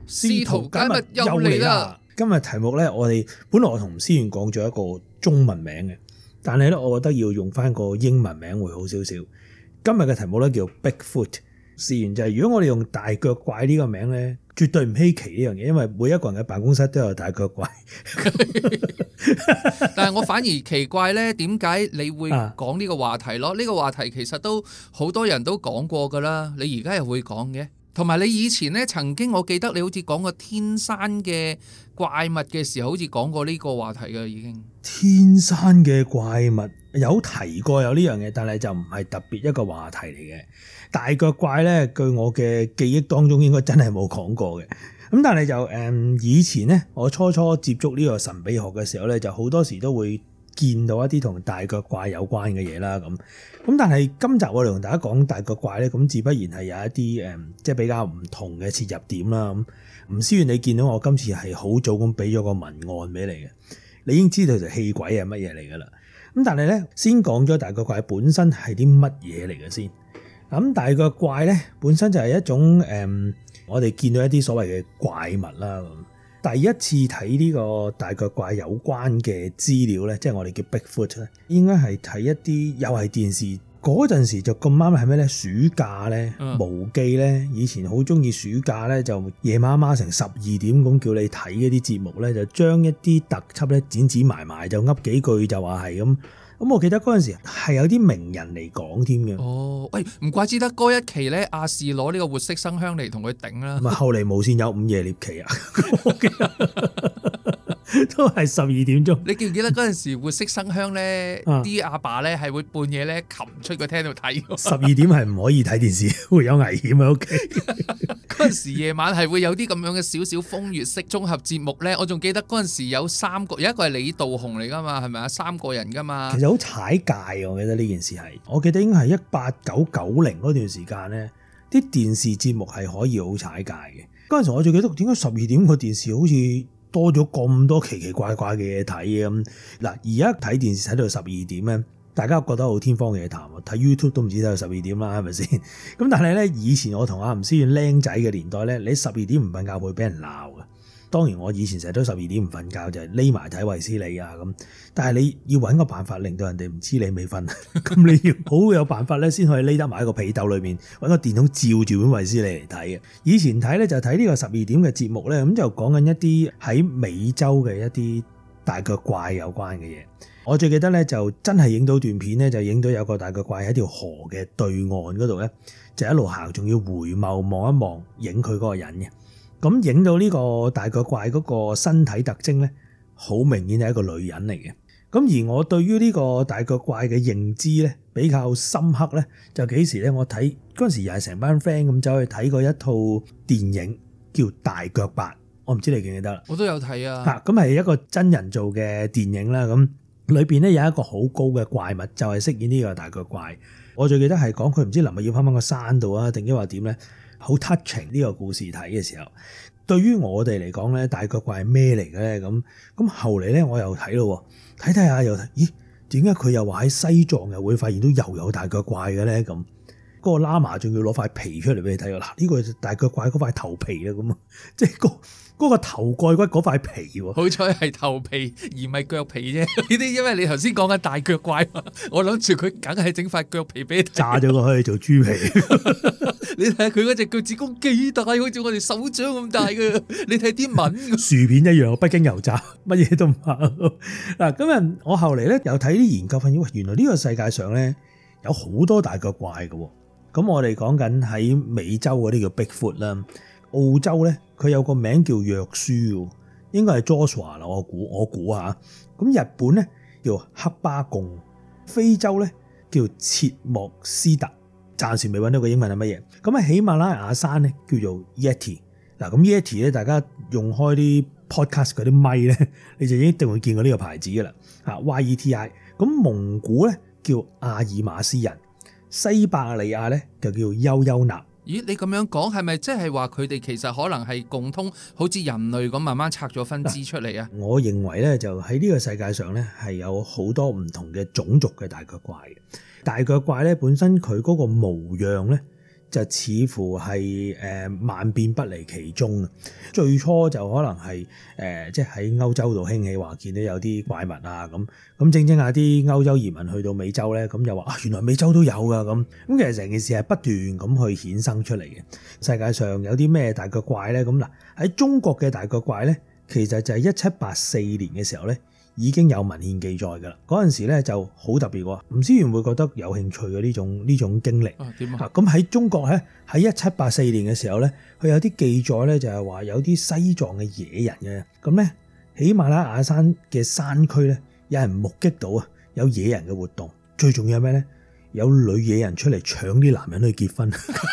試圖解密又嚟啦！ 今日題目咧，本來我同思遠講咗一個中文名嘅，但係咧，我覺得要用翻個英文名會好少少。今日嘅題目咧叫 Bigfoot。事緣就係如果我哋用大腳怪呢個名咧，絕對唔稀奇呢樣嘢，因為每一個人嘅辦公室都有大腳怪。 但係我反而奇怪咧，點解你會講呢個話題咯？呢個話題其實都好多人都講過噶啦，你而家又會講嘅。同埋你以前咧曾經，我記得你好似講過天山嘅怪物嘅時候，好似講過呢個話題嘅已經。 天山嘅怪物有提過有呢樣嘢，但係就唔係特別一個話題嚟嘅。大腳怪咧，據我嘅記憶當中應該真係冇講過嘅。咁但係就以前咧，我初接觸呢個神秘學嘅時候咧，就好多時都會見到一啲同大腳怪有關嘅嘢啦。咁但係今集我哋同大家講大腳怪咧，咁自不然係有一啲即係比較唔同嘅切入點啦。咁吳思遠，你見到我今次係好早咁俾咗個文案俾你嘅，你已經知道條氣鬼係乜嘢嚟噶啦。咁但係咧，先講咗大腳怪本身係啲乜嘢嚟嘅先。咁大腳怪咧本身就係一種我哋見到一啲所謂嘅怪物啦。第一次睇呢個大腳怪有關嘅資料咧，即係我哋叫 Bigfoot 咧，應該係睇一啲又係電視嗰陣時就咁啱係咩咧？暑假咧，無記咧，以前好中意暑假咧就夜媽媽成12點咁叫你睇嗰啲節目咧，就將一啲特輯咧剪埋就噏幾句就話係咁。咁我記得嗰陣時係有啲名人嚟講添嘅。 哦，喂，唔怪之得嗰一期咧，亞視攞呢個活色生香嚟同佢頂啦。 咪後嚟無線有午夜獵奇啊，我記得都係12點鐘。 你記唔記得嗰陣時活色生香咧？啲阿爸咧係會半夜咧擒出個廳度睇。 12點係唔可以睇電視，會有危險喺屋企。 嗰陣時夜晚係會有啲咁樣嘅少少風月式綜合節目咧。我仲記得嗰陣時有3個，有一個係李道雄嚟噶嘛，係咪啊？3個人噶嘛。 其實好踩界，我記得呢件事係，我記得應該係18990嗰段時間咧，啲電視節目係可以好踩界嘅。嗰陣時我最記得點解12點個電視好似多咗咁多奇奇怪怪嘅嘢睇嘅咁。嗱，而家睇電視睇到12點咧，大家覺得好天方夜譚喎，睇 YouTube 都唔止睇到12點啦，係咪先？咁但係咧，以前我同阿吳思遠僆仔嘅年代咧，你12點唔瞓覺會俾人鬧嘅。當然我以前成日都12點唔瞓覺，就係匿埋睇衛斯理啊咁。但係你要揾個辦法令到人哋唔知你未瞓，咁你要好有辦法咧，先可以匿得埋喺個被竇裏面，揾個電筒照住本衛斯理嚟睇嘅。以前睇咧就睇呢個12點嘅節目咧，咁就講緊一啲喺美洲嘅一啲大腳怪有關嘅嘢。我最記得咧就真係影到段片咧，就影到有個大腳怪喺條河嘅對岸嗰度咧，就一路行，仲要回眸望一望，影佢嗰個人嘅。咁影到呢個大腳怪嗰個身體特徵咧，好明顯係一個女人嚟嘅。咁而我對於呢個大腳怪嘅認知咧比較深刻咧，就幾時咧？我睇嗰陣時又係成班 friend 咁走去睇過一套電影叫《大腳八》，我唔知你記唔記得啦？ 我都有睇啊。 咁係一個真人做嘅電影啦。咁裏邊咧有一個好高嘅怪物，就係飾演呢個大腳怪。我最記得係講佢唔知臨日要翻個山度啊，定抑或點咧？好 touching 呢個故事睇嘅時候，對於我哋嚟講咧，大腳怪係咩嚟嘅咧？咁後嚟咧，我又睇咯，睇下又睇，咦？點解佢又話喺西藏又會發現到又有大腳怪嘅咧？咁嗰個喇嘛仲要攞塊皮出嚟俾你睇㗎啦！呢個大腳怪嗰塊頭皮啊，咁啊，即係嗰個頭蓋骨嗰塊皮喎。好彩係頭皮而唔係腳皮啫。呢啲因為你頭先講緊大腳怪嘛，我諗住佢梗係整塊腳皮俾你睇， 炸咗佢做豬皮。 你睇下佢嗰隻腳趾公幾大，好似我哋手掌咁大㗎。你睇啲紋， 薯片一樣，北京油炸，乜嘢都唔怕。嗱，今日我後嚟咧又睇啲研究發現，原來呢個世界上咧有好多大腳怪嘅。咁我哋講緊喺美洲嗰啲叫 Bigfoot 啦，澳洲咧佢有個名叫約書，應該係 Joshua 啦，我估下。咁日本咧叫黑巴貢，非洲咧叫切莫斯特。暫時未揾到個英文係乜嘢。咁喺喜馬拉雅山咧叫做 Yeti。嗱，咁 Yeti 咧，大家用開啲 podcast 嗰啲咪咧，你就一定會見過呢個牌子噶啦。YETI。咁蒙古咧叫阿爾馬斯人，西伯利亞咧就叫丘丘納。 咦，你咁樣講係咪即係話佢哋其實可能係共通，好似人類咁慢慢拆咗分支出嚟啊？ 我認為咧就喺呢個世界上咧係有好多唔同嘅種族嘅大腳怪嘅。大腳怪咧本身佢嗰個模樣咧就似乎係萬變不離其宗啊！最初就可能係即係喺歐洲度興起話見到有啲怪物啊咁正下啲歐洲移民去到美洲咧，咁又話原來美洲都有噶咁其實成件事係不斷咁去衍生出嚟嘅。世界上有啲咩大腳怪咧？咁嗱喺中國嘅大腳怪咧，其實就係1784年嘅時候咧，已經有文獻記載㗎啦。嗰陣時咧就好特別喎，吳思源會覺得有興趣嘅呢種經歷。 點啊？ 咁喺中國咧，喺1784年嘅時候咧，佢有啲記載咧，就係話有啲西藏嘅野人嘅。咁咧，喜馬拉雅山嘅山區咧，有人目擊到啊，有野人嘅活動。最重要係咩咧？有女野人出嚟搶啲男人去結婚。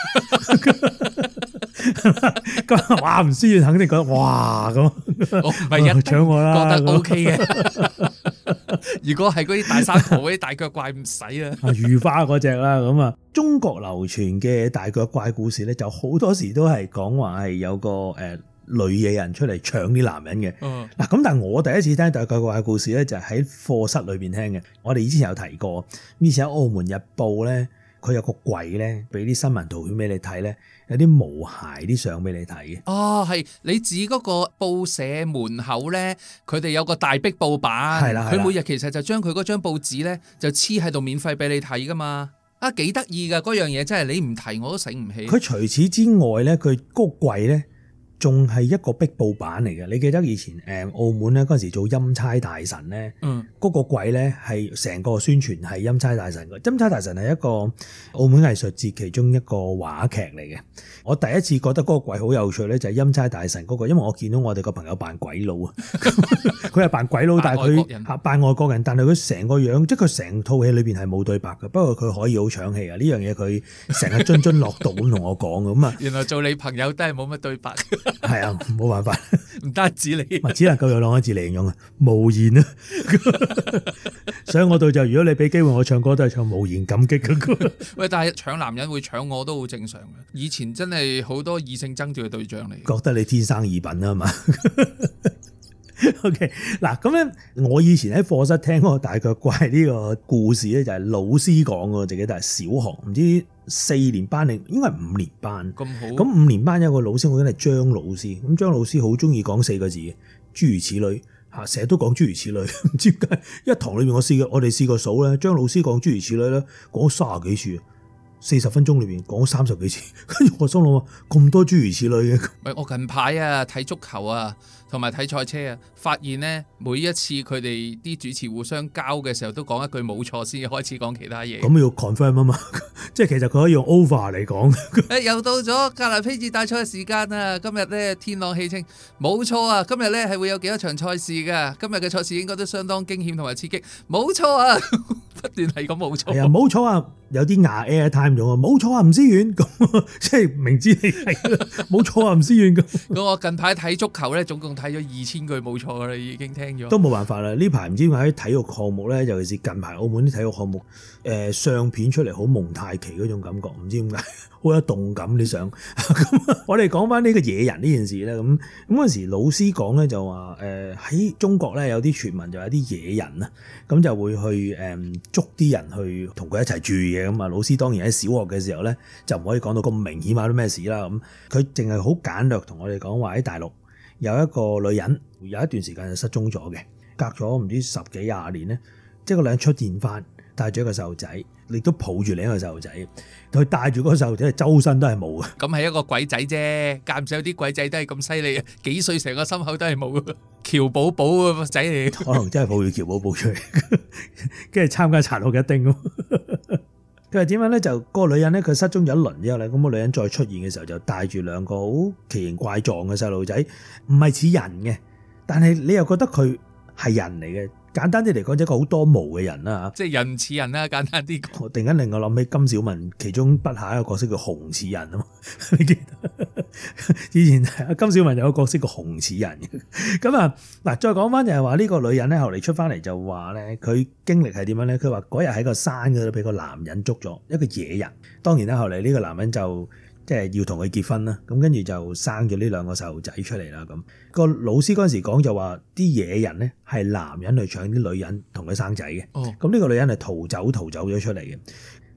咁哇，吳思遠肯定覺得哇咁， 我唔係一搶我啦， 覺得 OK 嘅。如果係嗰啲大山婆嗰啲大腳怪唔使啦， 如花嗰隻啦咁啊。中國流傳嘅大腳怪故事咧，就好多時都係講話係有個女野人出嚟搶啲男人嘅。嗱咁，但係我第一次聽大腳怪故事咧，就係喺課室裏邊聽嘅。我哋以前有提過，以前喺《澳門日報》咧，佢有個櫃咧，俾啲新聞圖片俾你睇咧，有啲毛孩啲相俾你睇嘅。 哦，係你指嗰個報社門口咧，佢哋有個大壁布板， 係啦， 佢每日其實就將佢嗰張報紙咧就黐喺度免費俾你睇噶嘛。啊，幾得意噶嗰樣嘢，真係你唔提我都醒唔起。 佢除此之外咧，佢嗰個櫃咧，仲係一個壁布板嚟嘅。你記得以前澳門咧嗰陣時做欽差大臣咧，嗰個櫃咧係成個宣傳係欽差大臣嘅。欽差大臣係一個澳門藝術節其中一個話劇嚟嘅。我第一次覺得嗰個櫃好有趣咧，就係欽差大臣嗰個，因為我見到我哋個朋友扮鬼佬啊，佢係扮鬼佬，但係佢扮外國人，但係佢成個樣，即係佢成套戲裏邊係冇對白嘅，不過佢可以好搶戲啊！呢樣嘢佢成日津津樂道咁同我講咁啊。 原來做你朋友都係冇乜對白。 係啊，冇辦法， 唔單止你， 只能夠用兩個字嚟形容啊，無言啊。所以我到就如果你俾機會我唱歌，都係唱無言感激嗰個。 喂，但係搶男人會搶我都好正常嘅。以前真係好多異性爭奪嘅對象嚟。 覺得你天生異稟啊嘛。OK， 嗱咁咧，我以前喺課室聽嗰個大腳怪呢個故事咧，就係老師講嘅，自己都係小學唔知4年班定應該係5年班。 咁好。 咁5年班有個老師，我覺得係張老師。咁張老師好中意講4個字嘅，諸如此類嚇，成日都講諸如此類。唔知點解一堂裏面我哋試過數咧，張老師講諸如此類咧，講30幾次。40分鐘裏邊講30幾次，跟住我心諗咁多諸如此類嘅。 喂，我近排啊睇足球啊，同埋睇賽車啊，發現咧每一次佢哋啲主持互相交嘅時候，都講一句冇錯先開始講其他嘢。 咁要 confirm 啊嘛，即係其實佢可以用 over 嚟講。 誒，又到咗格蘭披治大賽嘅時間啊！今日咧天朗氣清，冇錯啊！今日咧係會有幾多場賽事㗎？今日嘅賽事應該都相當驚險同埋刺激，冇錯啊！不斷係咁冇錯。係啊， 冇錯啊！有啲牙 air time 用啊，冇錯啊，吳思遠咁，即係明知你係冇錯啊，吳思遠咁。 咁我近排睇足球咧，總共睇咗2000句冇錯噶啦，已經聽咗。 都冇辦法啦！呢排唔知點解體育項目咧，尤其是近排澳門啲體育項目，相片出嚟好蒙太奇嗰種感覺，唔知點解好有動感你想。咁我哋講翻呢個野人呢件事咧，咁嗰陣時老師講咧就話喺中國咧有啲傳聞就有啲野人啊，咁就會去捉啲人去同佢一齊住嘅。咁啊，老師當然喺小學嘅時候咧就唔可以講到咁明顯話啲咩事啦。咁佢淨係好簡略同我哋講話喺大陸有一個女人有一段時間就失蹤咗嘅，隔咗唔知10幾20年咧，即係個女人出現翻，帶咗一個細路仔，亦都抱住另一個細路仔，佢帶住嗰個細路仔周身都係毛嘅。 咁係一個鬼仔啫，間唔時有啲鬼仔都係咁犀利啊！幾歲成個心口都係毛嘅，喬寶寶個仔嚟， 可能真係抱住喬寶寶出嚟，跟住參加殘酷一叮咁。佢話點樣咧？就嗰個女人咧，佢失蹤咗一輪之後咧，咁個女人再出現嘅時候，就帶住兩個好奇形怪狀嘅細路仔，唔係似人嘅，但係你又覺得佢係人嚟嘅。簡單啲嚟講，一個好多毛嘅人啦嚇， 即係人似人啦。簡單啲講， 我突然間令我諗起金小文其中筆下一個角色叫熊似人啊嘛，你記得？以前金小文有個角色叫熊似人嘅。咁啊嗱，再講翻就係話呢個女人咧，後嚟出翻嚟就話咧，佢經歷係點樣咧？佢話嗰日喺個山嗰度俾個男人捉咗，一個野人。當然啦，後嚟呢個男人就即係要同佢結婚啦，咁跟住就生咗呢兩個細路仔出嚟啦。咁個老師嗰陣時講就話啲野人咧係男人去搶啲女人同佢生仔嘅。咁呢個女人係逃走咗出嚟嘅。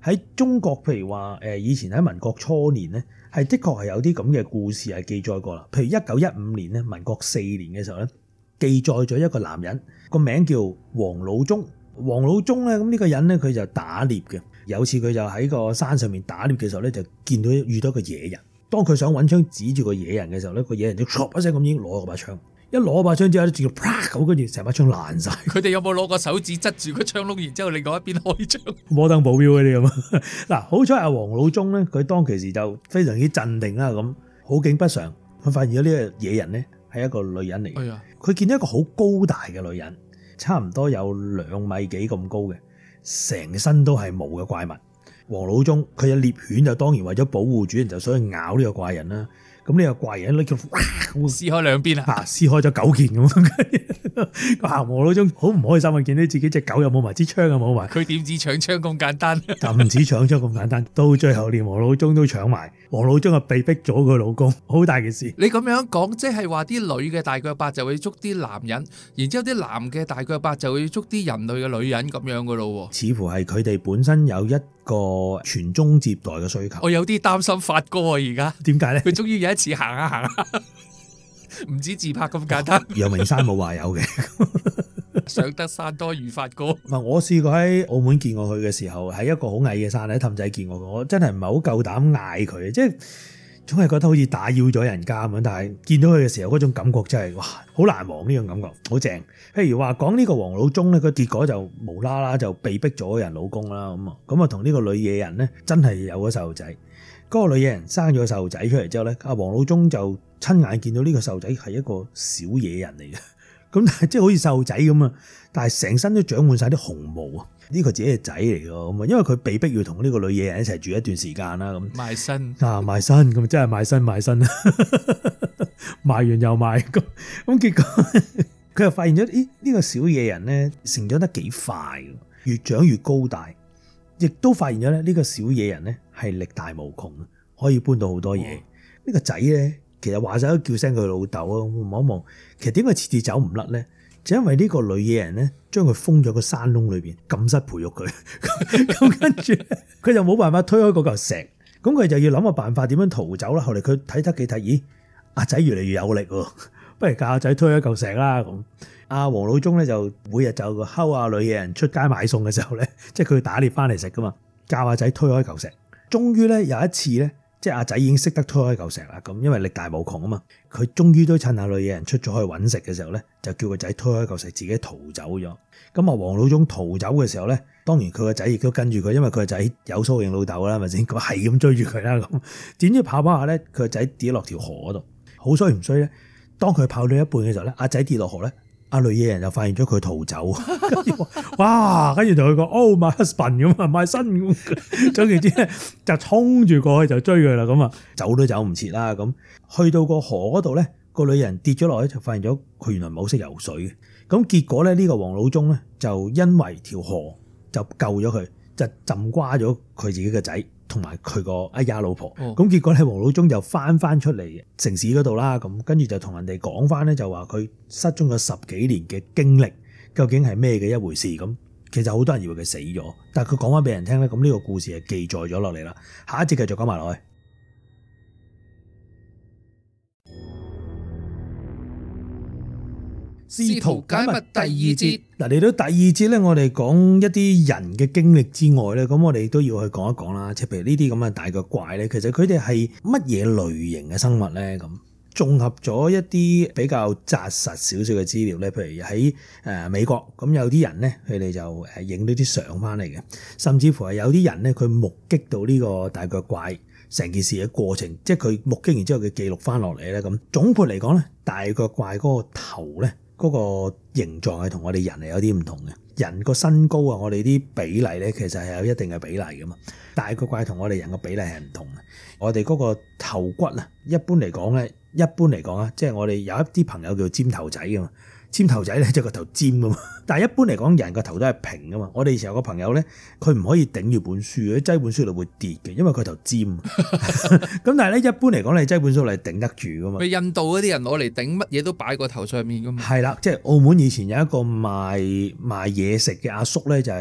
喺中國，譬如話以前喺民國初年咧，係的確係有啲咁嘅故事係記載過啦。譬如1915年咧，民國4年嘅時候咧，記載咗一個男人個名叫黃老忠。黃老忠咧，咁呢個人咧，佢就打獵嘅。有次佢就喺個山上面打獵嘅時候咧，就見到遇到一個野人。當佢想揾槍指住個野人嘅時候咧，個野人就唰一聲咁已經攞咗把槍。一攞把槍之後咧，直接啪咁，跟住成把槍爛晒。 佢哋有冇攞個手指執住個槍窿，然之後另外一邊開槍？ 摩登保鏢嗰啲咁。嗱，好彩阿黃老忠咧，佢當其時就非常之鎮定啦。咁好景不常，佢發現咗呢個野人咧係一個女人嚟嘅。佢見到一個好高大嘅女人，差唔多有2米幾咁高嘅，成身都係毛嘅怪物。黃老忠佢嘅獵犬就當然為咗保護主人，就想去咬呢個怪人啦。咁呢個怪人咧叫撕開兩邊啊！ 撕開咗9件咁。黃老忠好唔開心啊！見到自己隻狗又冇埋支槍又冇埋。 佢點止搶槍咁簡單？ 就唔止搶槍咁簡單，到最後連黃老忠都搶埋。黃老忠啊被逼咗佢老公，好大件事。 你咁樣講，即係話啲女嘅大腳八就會捉啲男人，然之後啲男嘅大腳八就會捉啲人類嘅女人咁樣噶咯？ 似乎係佢哋本身有一個傳宗接代嘅需求。 我有啲擔心發哥啊，而家點解咧？ 佢終於有一次行下行下，唔止自拍咁簡單。 陽明山冇話有嘅， 上得山多遇發哥。 我試過喺澳門見過佢嘅時候，喺一個好矮嘅山喺氹仔見過佢，我真係唔係好夠膽嗌佢，即係總係覺得好似打擾咗人家咁。但係見到佢嘅時候，嗰種感覺真係哇，好難忘呢種感覺，好正。譬如話講呢個黃老忠咧，個結果就無啦啦就被逼咗人老公啦，咁啊同呢個女野人咧真係有咗細路仔。嗰個女野人生咗個細路仔出嚟之後咧，阿黃老忠就親眼見到呢個細路仔係一個小野人嚟嘅。咁但係即係好似細路仔咁啊，但係成身都長滿晒啲紅毛啊！呢個自己嘅仔嚟㗎咁啊，因為佢被逼要同呢個女野人一齊住一段時間啦，咁賣身賣身咁真係賣身賣完又賣咁結果佢又發現咗，咦呢個小野人咧成長得幾快，越長越高大，亦都發現咗咧呢個小野人咧係力大無窮，可以搬到好多嘢。呢個仔咧。其實話晒都叫聲佢老豆啊！望一望，其實點解次次走唔甩咧？就因為呢個女野人咧，將佢封咗個山窿裏邊，禁室培育佢。咁跟住佢就冇辦法推開嗰嚿石，咁佢就要諗個辦法點樣逃走啦。後嚟佢睇得幾睇，咦，阿仔越嚟越有力喎，不如教阿仔推開嚿石啦。咁阿黃老忠咧就每日就睺阿女野人出街買餸嘅時候咧，即係佢打獵翻嚟食噶嘛，教阿仔推開嚿石。終於咧有一次咧。即係阿仔已經識得推開嚿石啦，咁因為力大無窮啊嘛，佢終於都趁阿女野人出咗去揾食嘅時候咧，就叫個仔推開嚿石，自己逃走咗。咁啊，黃老忠逃走嘅時候咧，當然佢個仔亦都跟住佢，因為佢個仔有蘇應老豆啦，係咪先？咁係咁追住佢啦，咁點知跑跑下咧，佢個仔跌落條河嗰度，好衰唔衰咧？當佢跑到一半嘅時候咧，阿仔跌落河咧。阿女野人就發現咗佢逃走，哇！跟住同佢講 ，Oh my husband 咁啊，my son 咁，總言之咧就衝住過去就追佢啦，咁啊走都走唔切啦，咁去到個河嗰度咧，個女人跌咗落去就發現咗佢原來唔係好識游水嘅，咁結果咧呢個黃老忠咧就因為條河就救咗佢，就浸瓜咗佢自己嘅仔。同埋佢個哎呀老婆，咁結果咧黃老忠就翻出嚟城市嗰度啦，咁跟住就同人哋講翻咧，就話佢失蹤咗10幾年嘅經歷，究竟係咩嘅一回事？咁其實好多人以為佢死咗，但係佢講翻俾人聽咧，咁呢個故事係記載咗落嚟啦。下一節繼續講埋落去。 試圖解密第2節。 嗱，嚟到第2節咧，我哋講一啲人嘅經歷之外咧，咁我哋都要去講一講啦。即係譬如呢啲咁嘅大腳怪咧，其實佢哋係乜嘢類型嘅生物咧？咁綜合咗一啲比較紮實少少嘅資料咧，譬如喺美國，咁有啲人咧，佢哋就影到啲相翻嚟嘅，甚至乎係有啲人咧，佢目擊到呢個大腳怪成件事嘅過程，即係佢目擊完之後佢記錄翻落嚟咧。咁總括嚟講咧，大腳怪嗰個頭咧，嗰個形狀係同我哋人係有啲唔同嘅。人個身高啊，我哋啲比例咧，其實係有一定嘅比例噶嘛。大腳怪同我哋人嘅比例係唔同嘅。我哋嗰個頭骨啊，一般嚟講啊，即係我哋有一啲朋友叫尖頭仔噶嘛。尖頭仔咧即係個頭尖噶嘛，但係一般嚟講人個頭都係平噶嘛。我哋以前有個朋友咧，佢唔可以頂住本書，佢擠本書度會跌嘅，因為佢頭尖。咁但係咧一般嚟講，你擠本書嚟頂得住噶嘛。 佢印度嗰啲人攞嚟頂乜嘢都擺個頭上面噶嘛。 係啦，即係澳門以前有一個賣嘢食嘅阿叔咧，就係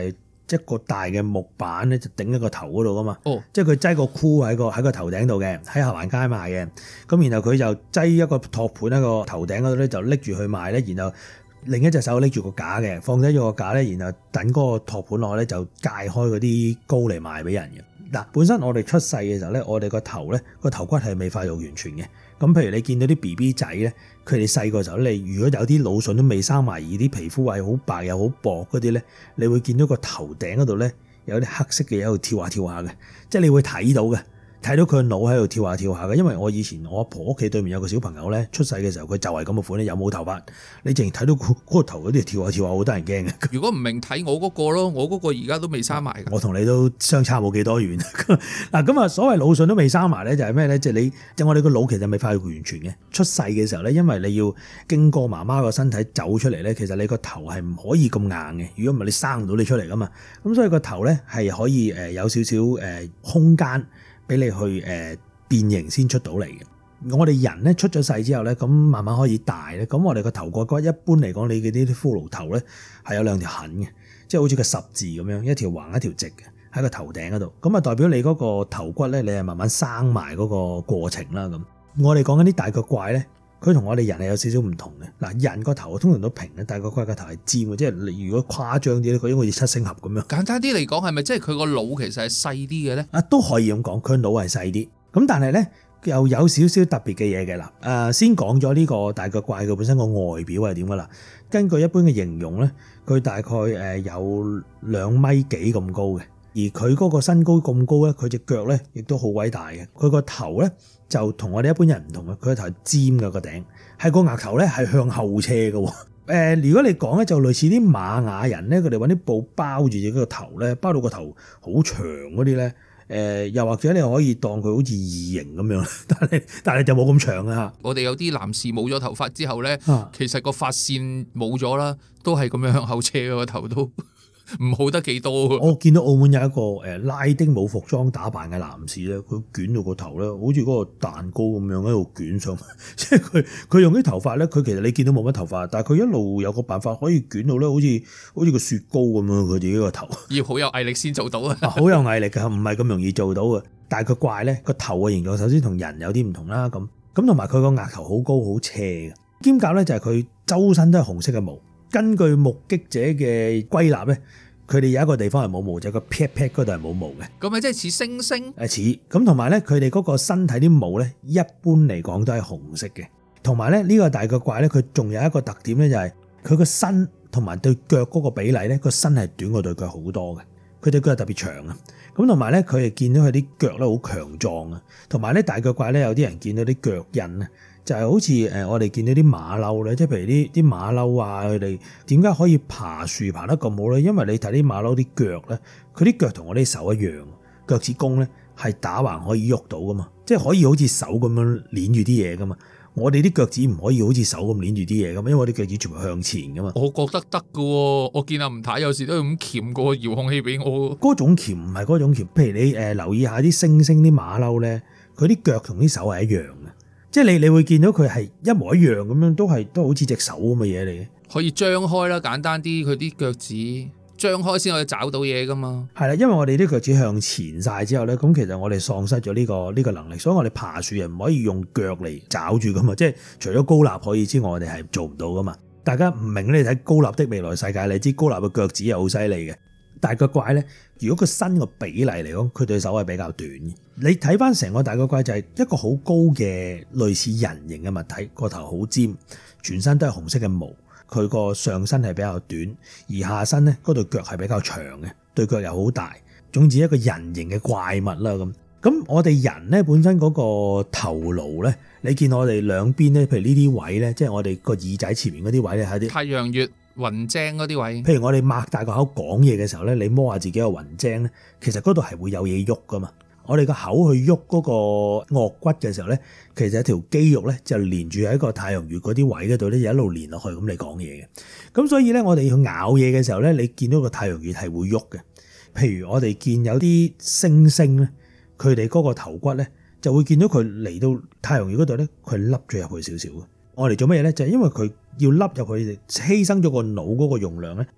一個大嘅木板咧，就頂喺個頭嗰度噶嘛。 哦， 即係佢擠個箍喺個頭頂度嘅，喺下環街賣嘅。咁然後佢就擠一個托盤喺個頭頂嗰度咧，就拎住去賣咧。然後另一隻手拎住個架嘅，放低咗個架咧，然後等嗰個托盤落咧，就界開嗰啲膏嚟賣俾人嘅。嗱，本身我哋出世嘅時候咧，我哋個頭咧個頭骨係未發育完全嘅。咁譬如你見到啲 BB 仔咧，佢哋細個時候，你如果有啲腦筍都未生埋，而啲皮膚係好白又好薄嗰啲咧，你會見到個頭頂嗰度咧有啲黑色嘅嘢喺度跳下跳下嘅，即係你會睇到嘅。睇到佢個腦喺度跳下跳下嘅，因為我以前我阿婆屋企對面有個小朋友咧，出世嘅時候佢就係咁嘅款咧，有冇頭髮，你淨係睇到嗰個頭嗰啲跳下跳下，好得人驚嘅。 如果唔明睇我嗰個咯，我嗰個而家都未生埋。 我同你都相差冇幾多遠。嗱咁啊，所謂腦筍都未生埋咧，就係咩咧？即係我哋個腦其實未發育完全嘅。出世嘅時候咧，因為你要經過媽媽個身體走出嚟咧，其實你個頭係唔可以咁硬嘅。如果唔係，你生唔到你出嚟噶嘛。咁所以個頭咧係可以有少少空間俾你去變形先出到嚟嘅。我哋人咧出咗世之後咧，咁慢慢可以大咧，咁我哋個頭個骨一般嚟講，你嘅啲骷髏頭咧係有兩條痕嘅，即係好似個十字咁樣，一條橫一條直嘅喺個頭頂嗰度，咁啊代表你嗰個頭骨咧，你係慢慢生埋嗰個過程啦。咁我哋講緊啲大腳怪咧，佢同我哋人係有少少唔同嘅。嗱，人個頭通常都平咧，大腳怪個頭係尖嘅，即係你如果誇張啲咧，佢應該好似七星俠咁樣。簡單啲嚟講，係咪即係佢個腦其實係細啲嘅咧？啊，都可以咁講，佢腦係細啲。咁但係咧又有少少特別嘅嘢嘅啦。先講咗呢個大腳怪佢本身個外表係點噶啦。根據一般嘅形容咧，佢大概有2米幾咁高嘅，而佢嗰個身高咁高咧，佢隻腳咧亦都好偉大嘅。佢個頭咧就同我哋一般人唔同嘅，佢個頭係尖嘅，個頂係個額頭咧係向後斜嘅。如果你講咧就類似啲瑪雅人咧，佢哋揾啲布包住自己個頭咧，包到個頭好長嗰啲咧。又或者你可以當佢好似異形咁樣，但係就冇咁長啊！我哋有啲男士冇咗頭髮之後咧，其實個髮線冇咗啦，都係咁樣向後斜個頭都唔好得幾多。我見到澳門有一個拉丁冇服裝打扮嘅男士咧，佢捲到個頭咧，好似嗰個蛋糕咁樣喺度捲上，即係佢用啲頭髮咧，佢其實你見到冇乜頭髮，但係佢一路有個辦法可以捲到咧，好似個雪糕咁樣，佢自己個頭要好有毅力先做到啊！好有毅力㗎，唔係咁容易做到嘅。但係佢怪咧個頭嘅形狀，首先同人有啲唔同啦，咁同埋佢個額頭好高好斜嘅，兼夾咧就係佢周身都係紅色嘅毛。根據目擊者嘅歸納咧，佢哋有一個地方係冇毛，就係個 pat pat 嗰度係冇毛嘅。咁咪即係似猩猩？似咁，同埋咧佢哋嗰個身體啲毛咧，一般嚟講都係紅色嘅。同埋咧呢個大腳怪咧，佢仲有一個特點咧，就係佢個身同埋對腳嗰個比例咧，個身係短過對腳好多嘅。佢對腳係特別長啊。咁同埋咧，佢哋見到佢啲腳咧好強壯啊。同埋咧大腳怪咧，有啲人見到啲腳印啊。就係好似我哋見到啲馬騮咧，即係譬如啲馬騮啊，佢哋點解可以爬樹爬得咁好咧？因為你睇啲馬騮啲腳咧，佢啲腳同我啲手一樣，腳趾公咧係打橫可以喐到噶嘛，即係可以好似手咁樣捏住啲嘢噶嘛。我哋啲腳趾唔可以好似手咁捏住啲嘢噶嘛，因為我啲腳趾全部向前噶嘛。我覺得得噶喎，我見阿吳太有時都咁鉗個遙控器俾我。嗰種鉗唔係嗰種鉗，譬如你留意下啲猩猩啲馬騮咧，佢啲腳同啲手係一樣嘅。即係你會見到佢係一模一樣咁樣，都好似隻手咁嘅嘢嚟嘅。可以張開啦，簡單啲，佢啲腳趾張開先可以找到嘢噶嘛。係啦，因為我哋啲腳趾向前晒之後咧，咁其實我哋喪失咗呢個能力，所以我哋爬樹又唔可以用腳嚟找住噶嘛。即係除咗高立可以之外，我哋係做唔到噶嘛。大家唔明咧，你睇高立的未來世界，你知高立嘅腳趾係好犀利嘅。大腳怪咧，如果個身個比例嚟講，佢對手係比較短嘅。你睇翻成個大腳怪就係一個好高嘅類似人形嘅物體，個頭好尖，全身都係紅色嘅毛。佢個上身係比較短，而下身咧嗰對腳係比較長嘅，對腳又好大。總之一個人形嘅怪物啦咁。咁我哋人咧本身嗰個頭顱咧，你見我哋兩邊咧，譬如呢啲位咧，即係我哋個耳仔前面嗰啲位咧，係啲太陽穴。雲精嗰啲位，譬如我哋擘大個口講嘢嘅時候咧，你摸下自己個雲精咧，其實嗰度係會有嘢喐噶嘛。我哋個口去喐嗰個顎骨嘅時候咧，其實有條肌肉咧就連住喺個太陽穴嗰啲位嗰度咧，一路連落去咁你講嘢嘅。咁所以咧，我哋要咬嘢嘅時候咧，你見到個太陽穴係會喐嘅。譬如我哋見有啲猩猩咧，佢哋嗰個頭骨咧就會見到佢嚟到太陽穴嗰度咧，佢凹咗入去少少嘅。我哋做乜嘢咧？就係因為佢要凹入去，犧牲咗個腦嗰個容量咧，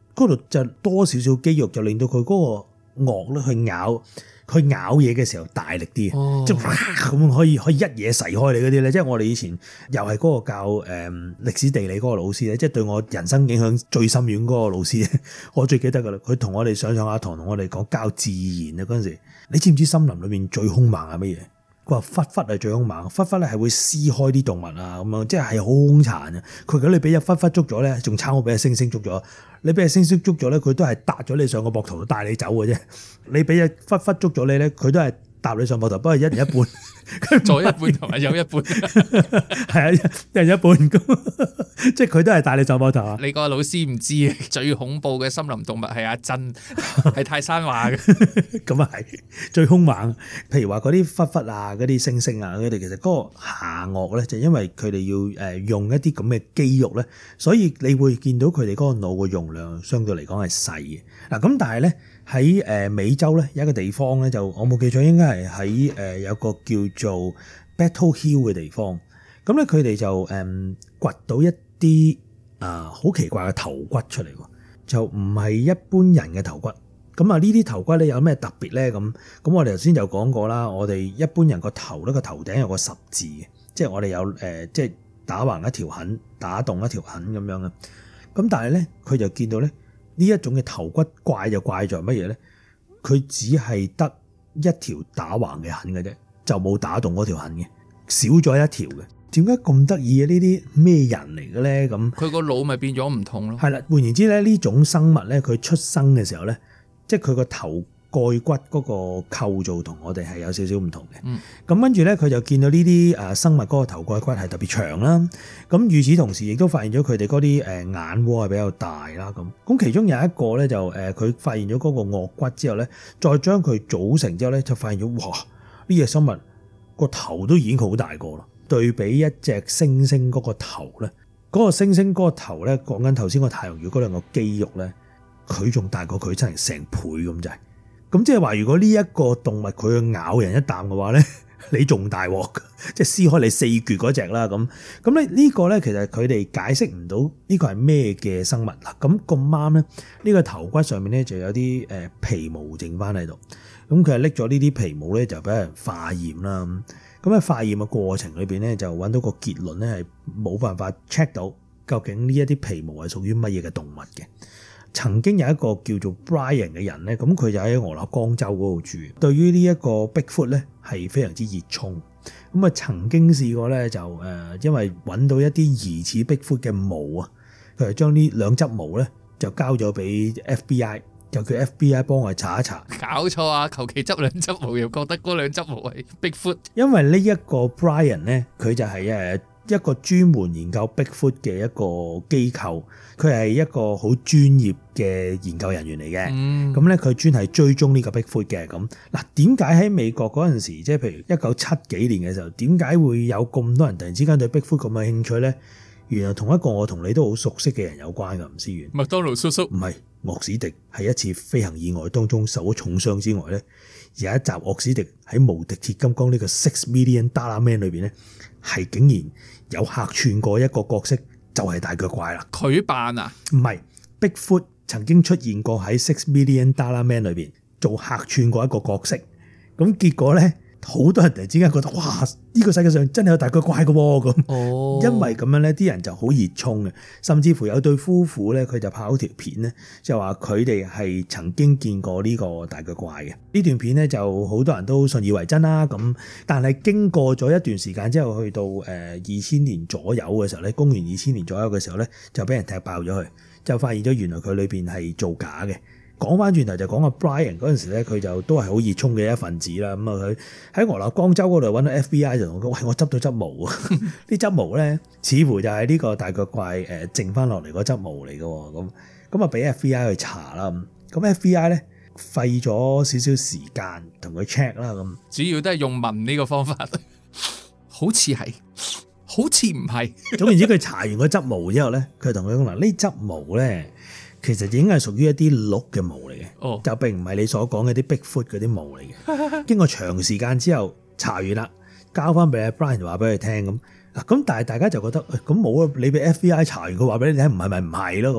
嗰度就多少少肌肉，就令到佢嗰個顎咧去咬嘢嘅時候大力啲，即係咁可以一嘢噬開你嗰啲咧。即係我哋以前又係嗰個教歷史地理嗰個老師咧，即係對我人生影響最深遠嗰個老師咧，我最記得噶啦。佢同我哋上下堂，同我哋講教自然啊嗰陣時，你知唔知森林裏面最兇猛係乜嘢？佢話狒狒係最兇猛，狒狒咧係會撕開啲動物啊咁樣，即係好兇殘啊！佢如果你俾隻狒狒捉咗咧，仲差我俾隻猩猩捉咗。你俾隻猩猩捉咗咧，佢都係搭咗你上個膊頭度帶你走嘅啫。你俾隻狒狒捉咗你咧，佢都係搭你上膊頭，不過一人一半， 左一半同埋右一半， 係啊，一人一半咁，即係佢都係帶你上膊頭啊！ 你個老師唔知啊，最恐怖嘅森林動物係阿珍，係泰山話嘅， 咁啊係最兇猛。譬如話嗰啲狒狒啊、嗰啲猩猩啊，佢哋其實嗰個下顎咧，就因為佢哋要用一啲咁嘅肌肉咧，所以你會見到佢哋嗰個腦嘅容量相對嚟講係細嘅。嗱咁但係咧喺美洲咧有一個地方咧，就我冇記錯應該係喺有個叫做 Battle Hill 嘅地方。咁咧佢哋就掘到一啲好奇怪嘅頭骨出嚟喎，就唔係一般人嘅頭骨。咁啊呢啲頭骨咧有咩特別咧？咁我哋頭先就講過啦，我哋一般人個頭咧個頭頂有個十字嘅，即係我哋有即係打橫一條痕、打洞一條痕咁樣嘅。咁但係咧佢就見到咧呢一種嘅頭骨怪就怪在乜嘢咧？佢只係得一條打橫嘅痕嘅啫，就冇打洞嗰條痕嘅，少咗一條嘅。點解咁得意嘅？呢啲咩人嚟嘅咧？咁佢個腦咪變咗唔同咯。 係啦，換言之咧，呢種生物咧，佢出生嘅時候咧，即係佢個頭蓋骨嗰個構造同我哋係有少少唔同嘅。咁跟住咧，佢就見到呢啲生物嗰個頭蓋骨係特別長啦。咁與此同時，亦都發現咗佢哋嗰啲眼窩係比較大啦。咁其中有一個咧就佢發現咗嗰個顎骨之後咧，再將佢組成之後咧，就發現咗哇！呢隻生物個頭都已經好大個啦。對比一隻猩猩嗰個頭咧，嗰個猩猩嗰個頭咧，講緊頭先個太陽穴嗰兩個肌肉咧，佢仲大過佢真係成倍咁滯。咁即係話，如果呢一個動物佢去咬人一啖嘅話咧，你仲大鑊，即係撕開你四橛嗰隻啦。咁咧呢個咧，其實佢哋解釋唔到呢個係咩嘅生物啦。咁咁啱咧，呢個頭骨上面咧就有啲皮毛剩翻喺度。咁佢係拎咗呢啲皮毛咧，就俾人化驗啦。咁喺化驗嘅過程裏邊咧，就揾到個結論咧，係冇辦法 check 到究竟呢一啲皮毛係屬於乜嘢嘅動物嘅。曾經有一個叫做 Brian 嘅人咧，咁佢就喺俄勒岡州嗰度住，對於呢一個 Bigfoot 咧係非常之熱衷。咁啊曾經試過咧就因為揾到一啲疑似 Bigfoot 嘅毛啊，佢係將呢兩執毛咧就交咗俾 FBI。就叫 FBI 幫我查一查， 搞錯啊！求其執兩執毛又覺得嗰兩執毛係 Bigfoot。 因為呢一個 Brian 咧，佢就係一個專門研究 Bigfoot 嘅一個機構，佢係一個好專業嘅研究人員嚟嘅。咁咧佢專係追蹤呢個 Bigfoot 嘅。咁嗱，點解喺美國嗰陣時，即係譬如1970幾年嘅時候，點解會有咁多人突然之間對 Bigfoot 咁嘅興趣咧？原來同一個我同你都好熟悉嘅人有關㗎，吳思遠。 麥當勞叔叔唔係。岳史迪喺一次飛行意外當中受咗重傷之外咧，有一集岳史迪喺無敵鐵金剛呢個$6 million Man 裏邊咧，係竟然有客串過一個角色，就係大腳怪啦。 佢扮啊？ 唔係 Bigfoot 曾經出現過喺$6 million Man 裏邊做客串過一個角色，咁結果咧。好多人突然之間覺得哇！呢個世界上真係有大腳怪嘅喎咁，因為咁樣咧，啲人就好熱衷嘅，甚至乎有對夫婦咧，佢就拍咗條片咧，就話佢哋係曾經見過呢個大腳怪嘅。呢段片咧就好多人都信以為真啦。咁但係經過咗一段時間之後，去到2000年左右嘅時候咧，公元2000年左右嘅時候咧，就俾人踢爆咗佢，就發現咗原來佢裏邊係造假嘅。講翻轉頭就講阿 Brian 嗰陣時咧，佢就都係好熱衷嘅一份子啦。咁啊，佢喺俄勒岡州嗰度揾到 FBI 就同我講：喂，我執到執毛啊！啲執毛咧，似乎就係呢個大腳怪剩翻落嚟嗰執毛嚟嘅。咁啊，俾 FBI 去查啦。咁 FBI 咧費咗少少時間同佢 check 啦。咁主要都係用問呢個方法，好似係，好似唔係。 總言之，佢查完個執毛之後咧，佢同佢講：嗱，呢執毛咧。其實已經係屬於一啲鹿嘅毛嚟嘅，就並唔係你所講嘅啲 Bigfoot 嗰啲毛嚟嘅。經過長時間之後查完啦，交翻俾阿 Brian 話俾佢聽咁。嗱咁但係大家就覺得咁冇啊，你俾 FBI 查完佢話俾你聽唔係咪唔係咯咁。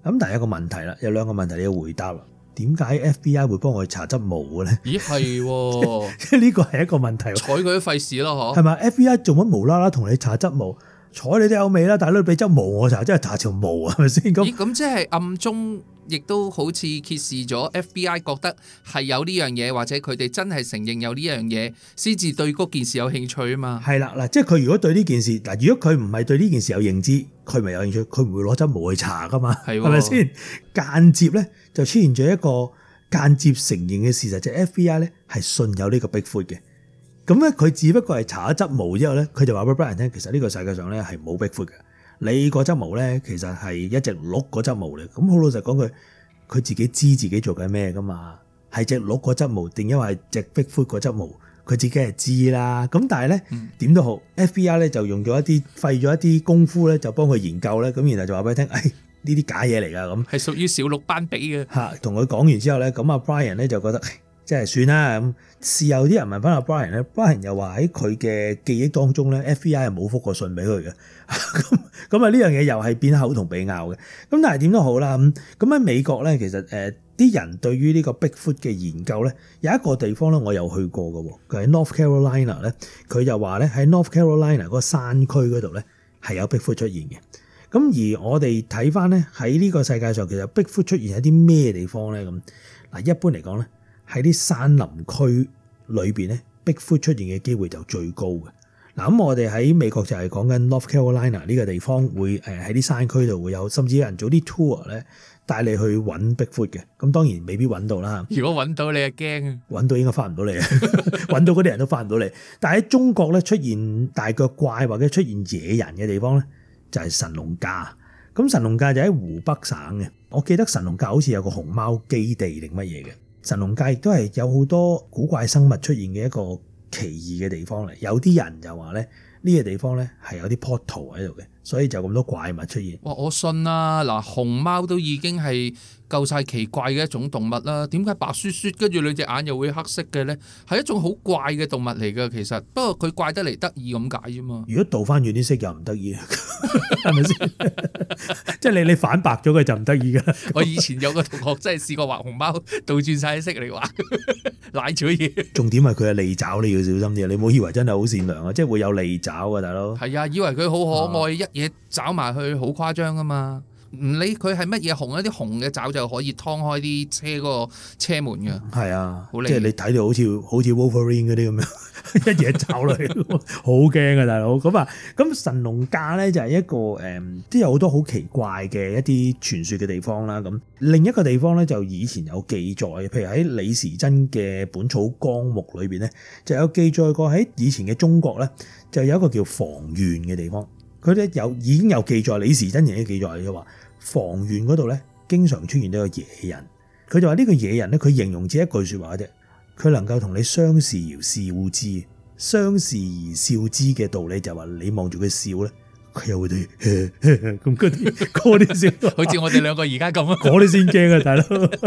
咁但係有個問題啦，有兩個問題你要回答啦。點解 FBI 會幫我查執毛嘅咧？ 咦係喎， 即係呢個係一個問題。 睬佢都費事咯， 係咪 FBI 做乜無啦啦同你查執毛？睬你都有味啦，大佬俾執毛我查，真係查條毛係咪先？ 咁即係暗中亦都好似揭示咗 FBI 覺得係有呢樣嘢，或者佢哋真係承認有呢樣嘢，先至對嗰件事有興趣啊嘛。 係啦，嗱，即係佢如果對呢件事嗱，如果佢唔係對呢件事有認知，佢咪有興趣，佢唔會攞執毛去查噶嘛，係咪先？間接咧就出現咗一個間接承認嘅事實，就係 FBI 咧係信有呢個 Bigfoot 嘅。咁咧佢只不過係查咗執毛之後咧，佢就話俾 Brian 聽，其實呢個世界上咧係冇 Bigfoot 嘅。你個執毛咧其實係一隻鹿個執毛嚟。咁好老實講句，佢自己知自己做緊咩噶嘛？係隻鹿個執毛定因為係隻 Bigfoot 個執毛？佢自己係知啦。咁但係咧點都好，FBI 咧就用咗一啲費咗一啲功夫咧，就幫佢研究咧。咁然後就話俾佢聽，呢啲假嘢嚟㗎。咁係屬於小鹿斑比嘅嚇。同佢講完之後咧，咁阿 Brian 咧就覺得即係算啦咁。事後啲人問翻阿 Brian 咧，Brian 又話喺佢嘅記憶當中咧 ，FBI 係冇覆過信俾佢嘅。咁啊呢樣嘢又係變口同鼻拗嘅。咁但係點都好啦。咁喺美國咧，其實啲人對於呢個 Bigfoot 嘅研究咧，有一個地方咧我有去過嘅喎，佢喺 North Carolina 咧，佢就話咧喺 North Carolina 嗰個山區嗰度咧係有 Bigfoot 出現嘅。咁而我哋睇翻咧喺呢個世界上其實 Bigfoot 出現喺啲咩地方咧？咁嗱，一般嚟講咧喺啲山林區裏邊咧 Bigfoot 出現嘅機會就最高嘅。嗱，咁我哋喺美國就係講緊 North Carolina 呢個地方會喺啲山區度會有，甚至有人做啲 tour 咧帶你去揾 Bigfoot 嘅。咁當然未必揾到啦。 如果揾到你就驚啊！ 揾到應該翻唔到嚟，揾到嗰啲人都翻唔到嚟。但係喺中國咧出現大腳怪或者出現野人嘅地方咧，就係神農架。咁神農架就喺湖北省嘅。我記得神農架好似有個熊貓基地定乜嘢嘅。神農架亦都係有好多古怪生物出現嘅一個奇異嘅地方嚟。有啲人就話咧呢個地方咧係有啲 portal 喺度嘅，所以就咁多怪物出現。 哇！我信啦，嗱，熊貓都已經係夠晒奇怪嘅一種動物啦。點解白雪雪跟住兩隻眼又會黑色嘅咧？係一種好怪嘅動物嚟㗎，其實。不過佢怪得嚟得意咁解啫嘛。 如果倒翻轉啲色又唔得意，係咪先？即係你反白咗佢就唔得意㗎。 我以前有個同學真係試過畫熊貓倒轉晒色嚟畫，賴咗嘢。重點係佢係利爪，你要小心啲。你唔好以為真係好善良啊，即係會有利爪㗎，大佬。 係啊，以為佢好可愛，一嘢爪埋去好誇張㗎嘛。唔理佢係乜嘢紅，一啲紅嘅爪就可以劏開啲車嗰個車門嘅。係啊，即係你睇到好似 Wolverine 嗰啲咁樣，一嘢爪落去，好驚啊大佬。咁神農架咧就係一個都有好多好奇怪嘅一啲傳說嘅地方啦。咁另一個地方咧就以前有記載，譬如喺李時珍嘅《本草綱目》裏邊咧就有記載過喺以前嘅中國咧就有一個叫房縣嘅地方。佢咧已經有記載，李時珍亦都記載就話房縣嗰度咧經常出現呢個野人。佢就話呢個野人咧，佢形容只一句說話啫，佢能夠同你相視而笑之。相視而笑之嘅道理就係話你望住佢笑咧，佢又會對咁嗰啲笑，好似我哋兩個而家咁啊，嗰啲先驚啊大佬。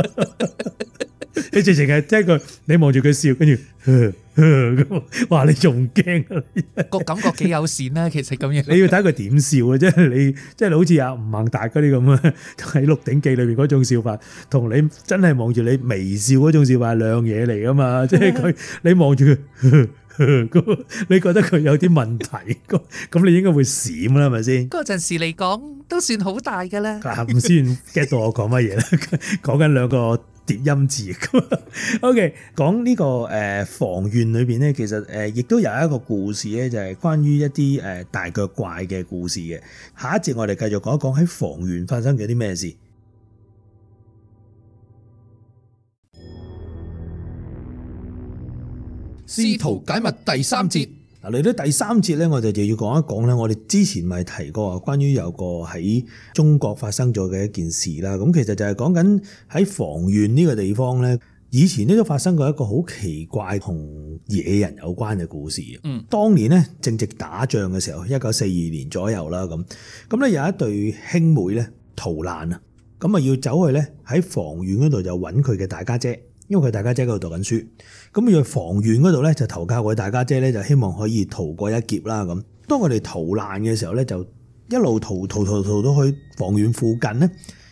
你直情係聽佢，你望住佢笑，跟住哇你仲驚啊？個感覺幾友善啦，其實咁樣。你要睇佢點笑啊，即係好似阿吳孟達嗰啲咁啊，喺《鹿鼎記》裏邊嗰種笑法，同你真係望住你微笑嗰種笑法係兩嘢嚟噶嘛？即係佢你望住佢，你覺得佢有啲問題，咁你應該會閃啦，係咪先？嗰陣時嚟講都算好大噶啦。唔先 get 到我講乜嘢啦？講緊兩個疊音字。OK， 講呢個房縣裏邊咧，其實亦都有一個故事咧，就係關於一啲大腳怪嘅故事嘅。下一節我哋繼續講一講喺房縣發生咗啲咩事。試圖解密第三節。嗱，嚟到第三節咧，我哋就要講一講咧，我哋之前咪提過關於有個喺中國發生咗嘅一件事啦。咁其實就係講緊喺房縣呢個地方咧，以前咧都發生過一個好奇怪同野人有關嘅故事。當年咧正值打仗嘅時候，1942年左右啦，咁咧有一對兄妹咧逃難啊，咁啊要走去咧喺房縣嗰度就揾佢嘅大家姐。因為佢大家姐喺度讀緊書，咁要去房縣嗰度咧就投靠佢大家姐咧，就希望可以逃過一劫啦。咁當佢哋逃難嘅時候咧，就一路逃到去房縣附近咧，